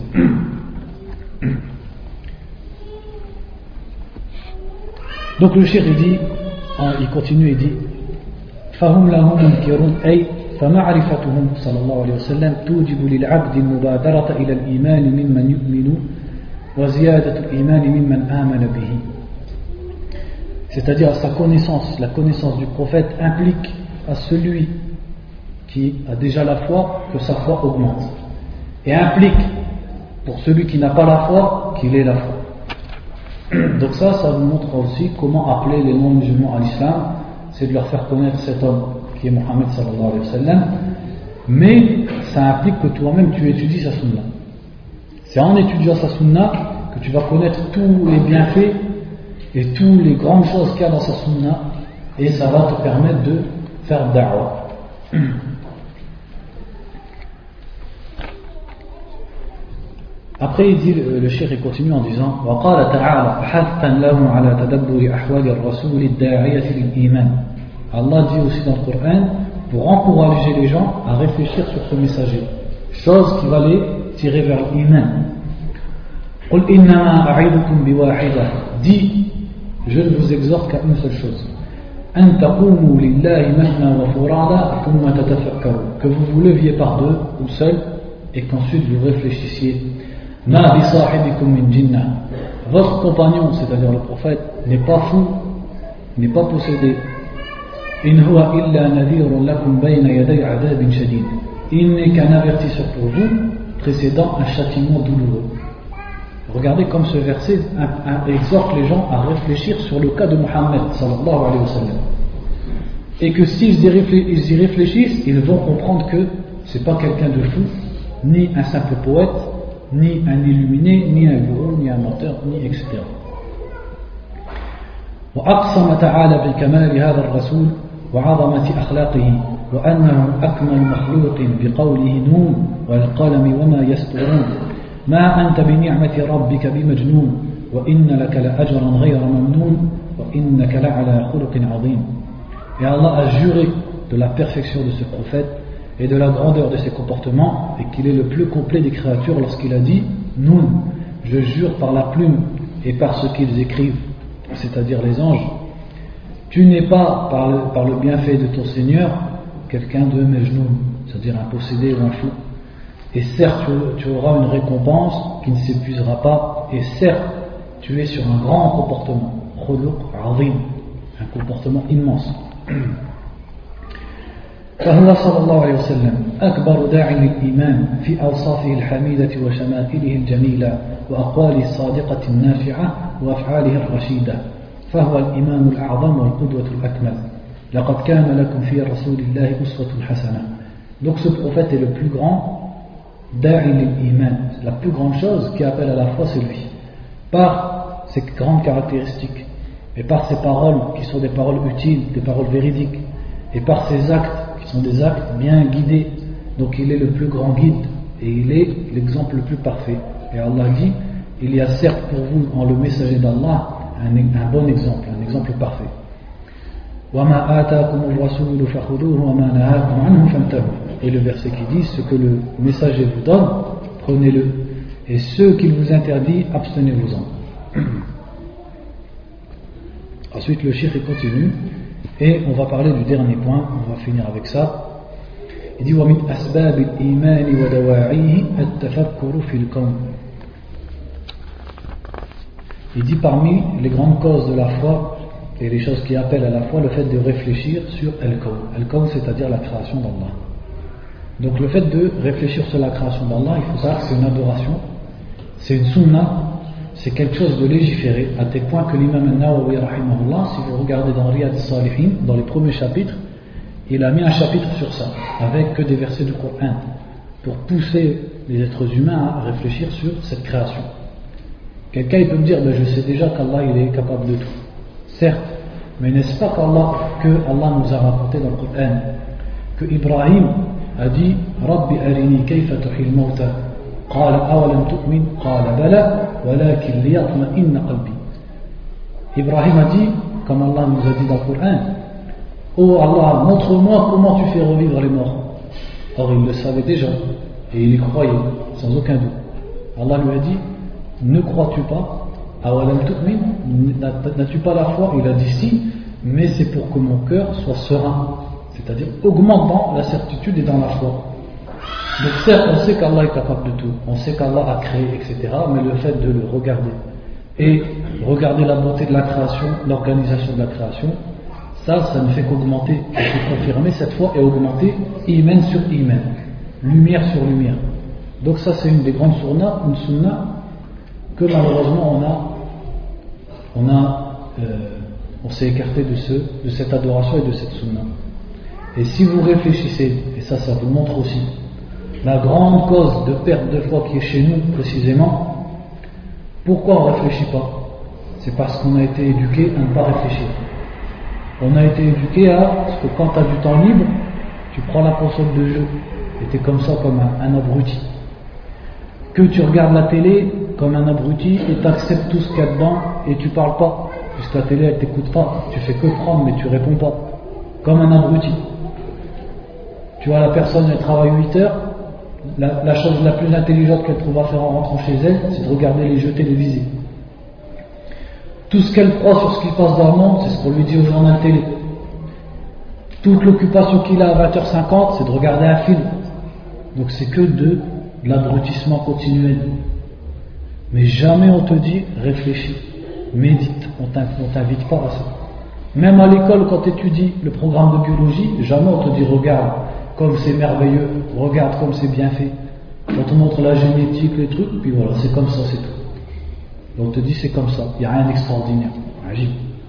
Donc le cheikh il dit, il continue et dit فهم لهم منكرون أي فمعرفتهم صلى الله عليه وسلم توجب للعبد المبادرة إلى الإيمان ممن يؤمن وزيادة الإيمان ممن آمن به. C'est-à-dire sa connaissance, la connaissance du prophète implique à celui qui a déjà la foi que sa foi augmente, et implique pour celui qui n'a pas la foi qu'il ait la foi. Donc ça, ça nous montre aussi comment appeler les non-musulmans à l'islam, c'est de leur faire connaître cet homme qui est Mohammed sallallahu alayhi wa sallam, mais ça implique que toi-même tu étudies sa sunna. C'est en étudiant sa sunna que tu vas connaître tous les bienfaits et toutes les grandes choses qu'il y a dans sa sunna, et ça va te permettre de faire da'wah. Après il dit, le cheikh il continue en disant وقال تعالى حثا لهم على تدبر أحوال الرسول الداعية للإيمان. Allah dit aussi dans le Coran pour encourager les gens à réfléchir sur ce messager, chose qui va les tirer vers l'iman. قل إنما أعظكم بواحدة. Dis, je ne vous exhorte qu'à une seule chose, أن تقوموا لله مثنى وفرادا ثم تتفكروا, que vous vous leviez par deux ou seul et qu'ensuite vous réfléchissiez. Ma bisahibikum min jinnah. Votre compagnon, c'est-à-dire le prophète, n'est pas fou, n'est pas possédé. In huwa illa nadhirun lakum bayna yaday adhabin shadid. Il n'est qu'un avertisseur pour vous, précédant un châtiment douloureux. Regardez comme ce verset exhorte les gens à réfléchir sur le cas de Muhammad sallallahu alayhi wa sallam. Et que s'ils y réfléchissent, ils vont comprendre que c'est pas quelqu'un de fou, ni un simple poète, ni un illuminé, ni un gourou, ni un menteur, ni et cetera. وأقسم تعالى بكمال هذا الرسول وعظمة أخلاقه وأنه أكمل مخلوق بقوله نون والقلم وما يسطرون ما أنت بنعمة ربك بمجنون وإن لك لأجرا غير ممنون وإنك لعلى خلق عظيم. Et Allah a juré de la perfection de ce prophète et de la grandeur de ses comportements, et qu'il est le plus complet des créatures lorsqu'il a dit Nun, je jure par la plume et par ce qu'ils écrivent, c'est-à-dire les anges, tu n'es pas par le, par le bienfait de ton Seigneur quelqu'un de Majnoun, c'est-à-dire un possédé ou un fou. Et certes tu, tu auras une récompense qui ne s'épuisera pas, et certes tu es sur un grand comportement, khuluq azim, un comportement immense. فهو صلى الله عليه وسلم أكبر داع للإيمان في أوصافه الحميدة وشمائله الجميلة وأقواله الصادقة النافعة وأفعاله الرشيدة، فهو الإمام الأعظم والقدوة الأكمل. لقد كان لكم في رسول الله أسوة حسنة. Donc ce prophète est le plus grand da'i lil-iman, la plus grande chose qui appelle à la foi, c'est lui, par ses grandes caractéristiques et par ses paroles qui sont des paroles utiles, des paroles véridiques, et par ses actes qui sont des actes bien guidés. Donc il est le plus grand guide et il est l'exemple le plus parfait. Et Allah dit, il y a certes pour vous en le messager d'Allah un, un bon exemple, un exemple parfait. Et le verset qui dit, ce que le messager vous donne, prenez-le, et ce qu'il vous interdit, abstenez-vous-en. Ensuite le cheikh continue, et on va parler du dernier point, on va finir avec ça. Il dit وَمِنْ أَسْبَابِ الْإِيمَانِ وَدَوَاعِيهِ التَّفَكُّرُ فِي الْكَوْنِ. Il dit parmi les grandes causes de la foi et les choses qui appellent à la foi, le fait de réfléchir sur Al-Kawn. Al-Kawn, c'est-à-dire la création d'Allah. Donc le fait de réfléchir sur la création d'Allah, il faut savoir que c'est une adoration, c'est une sunna, c'est quelque chose de légiféré, à tel point que l'imam An-Nawawi rahimahullah, si vous regardez dans Riyad Salihin, dans les premiers chapitres, il a mis un chapitre sur ça, avec que des versets du Coran, pour pousser les êtres humains à réfléchir sur cette création. Quelqu'un il peut me dire, ben, je sais déjà qu'Allah il est capable de tout. Certes, mais n'est-ce pas qu'Allah, que Allah nous a raconté dans le Coran, que Ibrahim a dit, Rabbi arini kayfa tuhil mawta. قال أولم تؤمن قال بلى ولكن ليطمئن قلبي. Ibrahim a dit, comme Allah nous a dit dans le Coran, oh Allah, montre-moi comment tu fais revivre les morts. Or il le savait déjà et il y croyait sans aucun doute. Allah lui a dit, ne crois-tu pas, awalam tu'min, n'as-tu pas la foi? Il a dit si, mais c'est pour que mon cœur soit serein, c'est-à-dire augmentant la certitude et dans la foi. Donc certes, on sait qu'Allah est capable de tout, on sait qu'Allah a créé, et cetera, mais le fait de le regarder et regarder la beauté de la création, l'organisation de la création, ça, ça ne fait qu'augmenter, et confirmer cette foi et augmenter iman sur iman, lumière sur lumière. Donc ça, c'est une des grandes sunna, une sunna que malheureusement on a, on a, euh, on s'est écarté de ce, de cette adoration et de cette sunna. Et si vous réfléchissez, et ça, ça vous montre aussi la grande cause de perte de foi qui est chez nous précisément, Pourquoi on ne réfléchit pas? C'est parce qu'on a été éduqué à ne pas réfléchir. On a été éduqué à parce que quand tu as du temps libre, tu prends la console de jeu et tu es comme ça, comme un, un abruti. Que tu regardes la télé comme un abruti et tu acceptes tout ce qu'il y a dedans et tu parles pas, puisque la télé elle t'écoute pas, tu fais que prendre mais tu réponds pas, comme un abruti. Tu vois, la personne elle travaille huit heures, la, la chose la plus intelligente qu'elle trouve à faire en rentrant chez elle, c'est de regarder les jeux télévisés. Tout ce qu'elle croit sur ce qui passe dans le monde, c'est ce qu'on lui dit au journal télé. Toute l'occupation qu'il a à vingt heures cinquante, c'est de regarder un film. Donc c'est que de l'abrutissement continuel. Mais jamais on te dit réfléchis, médite, on ne t'invite pas à ça. Même à l'école, quand tu étudies le programme de biologie, jamais on te dit regarde comme c'est merveilleux, regarde comme c'est bien fait. On te montre la génétique, les trucs, puis voilà, c'est comme ça, c'est tout. On te dit c'est comme ça, il n'y a rien d'extraordinaire. Agile.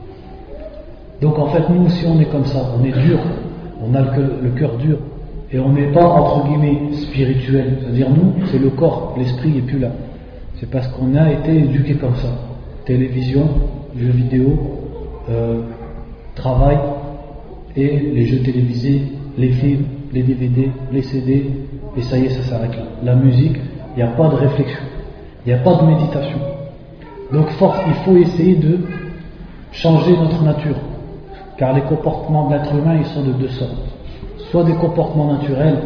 Donc en fait, nous aussi on est comme ça, on est dur, on a le, le cœur dur, et on n'est pas entre guillemets spirituel. C'est-à-dire nous, c'est le corps, l'esprit n'est plus là. C'est parce qu'on a été éduqué comme ça. Télévision, jeux vidéo, euh, travail, et les jeux télévisés, les films, les D V D, les C D, et ça y est, ça s'arrête là. La musique, il n'y a pas de réflexion, il n'y a pas de méditation. Donc force, il faut essayer de changer notre nature, car les comportements de l'être humain, ils sont de deux sortes. Soit des comportements naturels,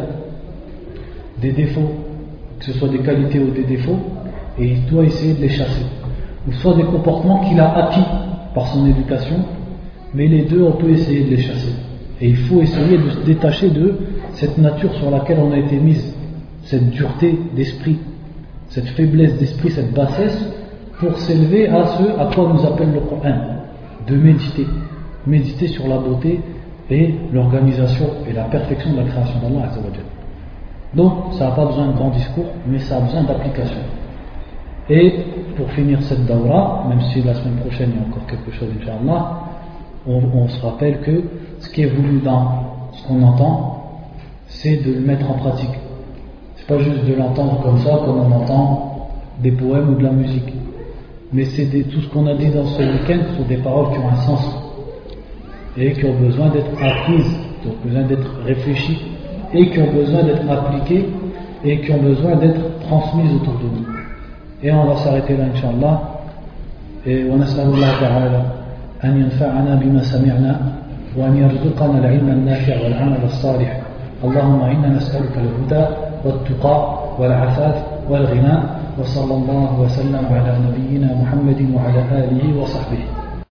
des défauts, que ce soit des qualités ou des défauts, et il doit essayer de les chasser. Ou soit des comportements qu'il a acquis par son éducation, mais les deux, on peut essayer de les chasser. Et il faut essayer de se détacher de cette nature sur laquelle on a été mise, cette dureté d'esprit, cette faiblesse d'esprit, cette bassesse, pour s'élever à ce à quoi nous appelle le Coran, de méditer, méditer sur la beauté et l'organisation et la perfection de la création d'Allah Azza wa Jalla. Donc ça n'a pas besoin de grands discours, mais ça a besoin d'application. Et pour finir cette dawra, même si la semaine prochaine il y a encore quelque chose, Inch'Allah, on, on se rappelle que ce qui est voulu dans ce qu'on entend, c'est de le mettre en pratique. C'est pas juste de l'entendre comme ça, comme on entend des poèmes ou de la musique. Mais c'est des, tout ce qu'on a dit dans ce week-end sont des paroles qui ont un sens et qui ont besoin d'être apprises, qui ont besoin d'être réfléchies et qui ont besoin d'être appliquées et qui ont besoin d'être transmises autour de nous. Et on va s'arrêter là, Inch'Allah. Et on nas'alullah ta'ala an yanfa'ana bima sami'na wa an yarzuqana al-'ilma an-nafi' wal-'amal as-salih. Allahumma inna nas'aluka al-huda wat-tuqa wal-'afaf wal-ghina. وصلى الله وسلم على نبينا محمد وعلى آله وصحبه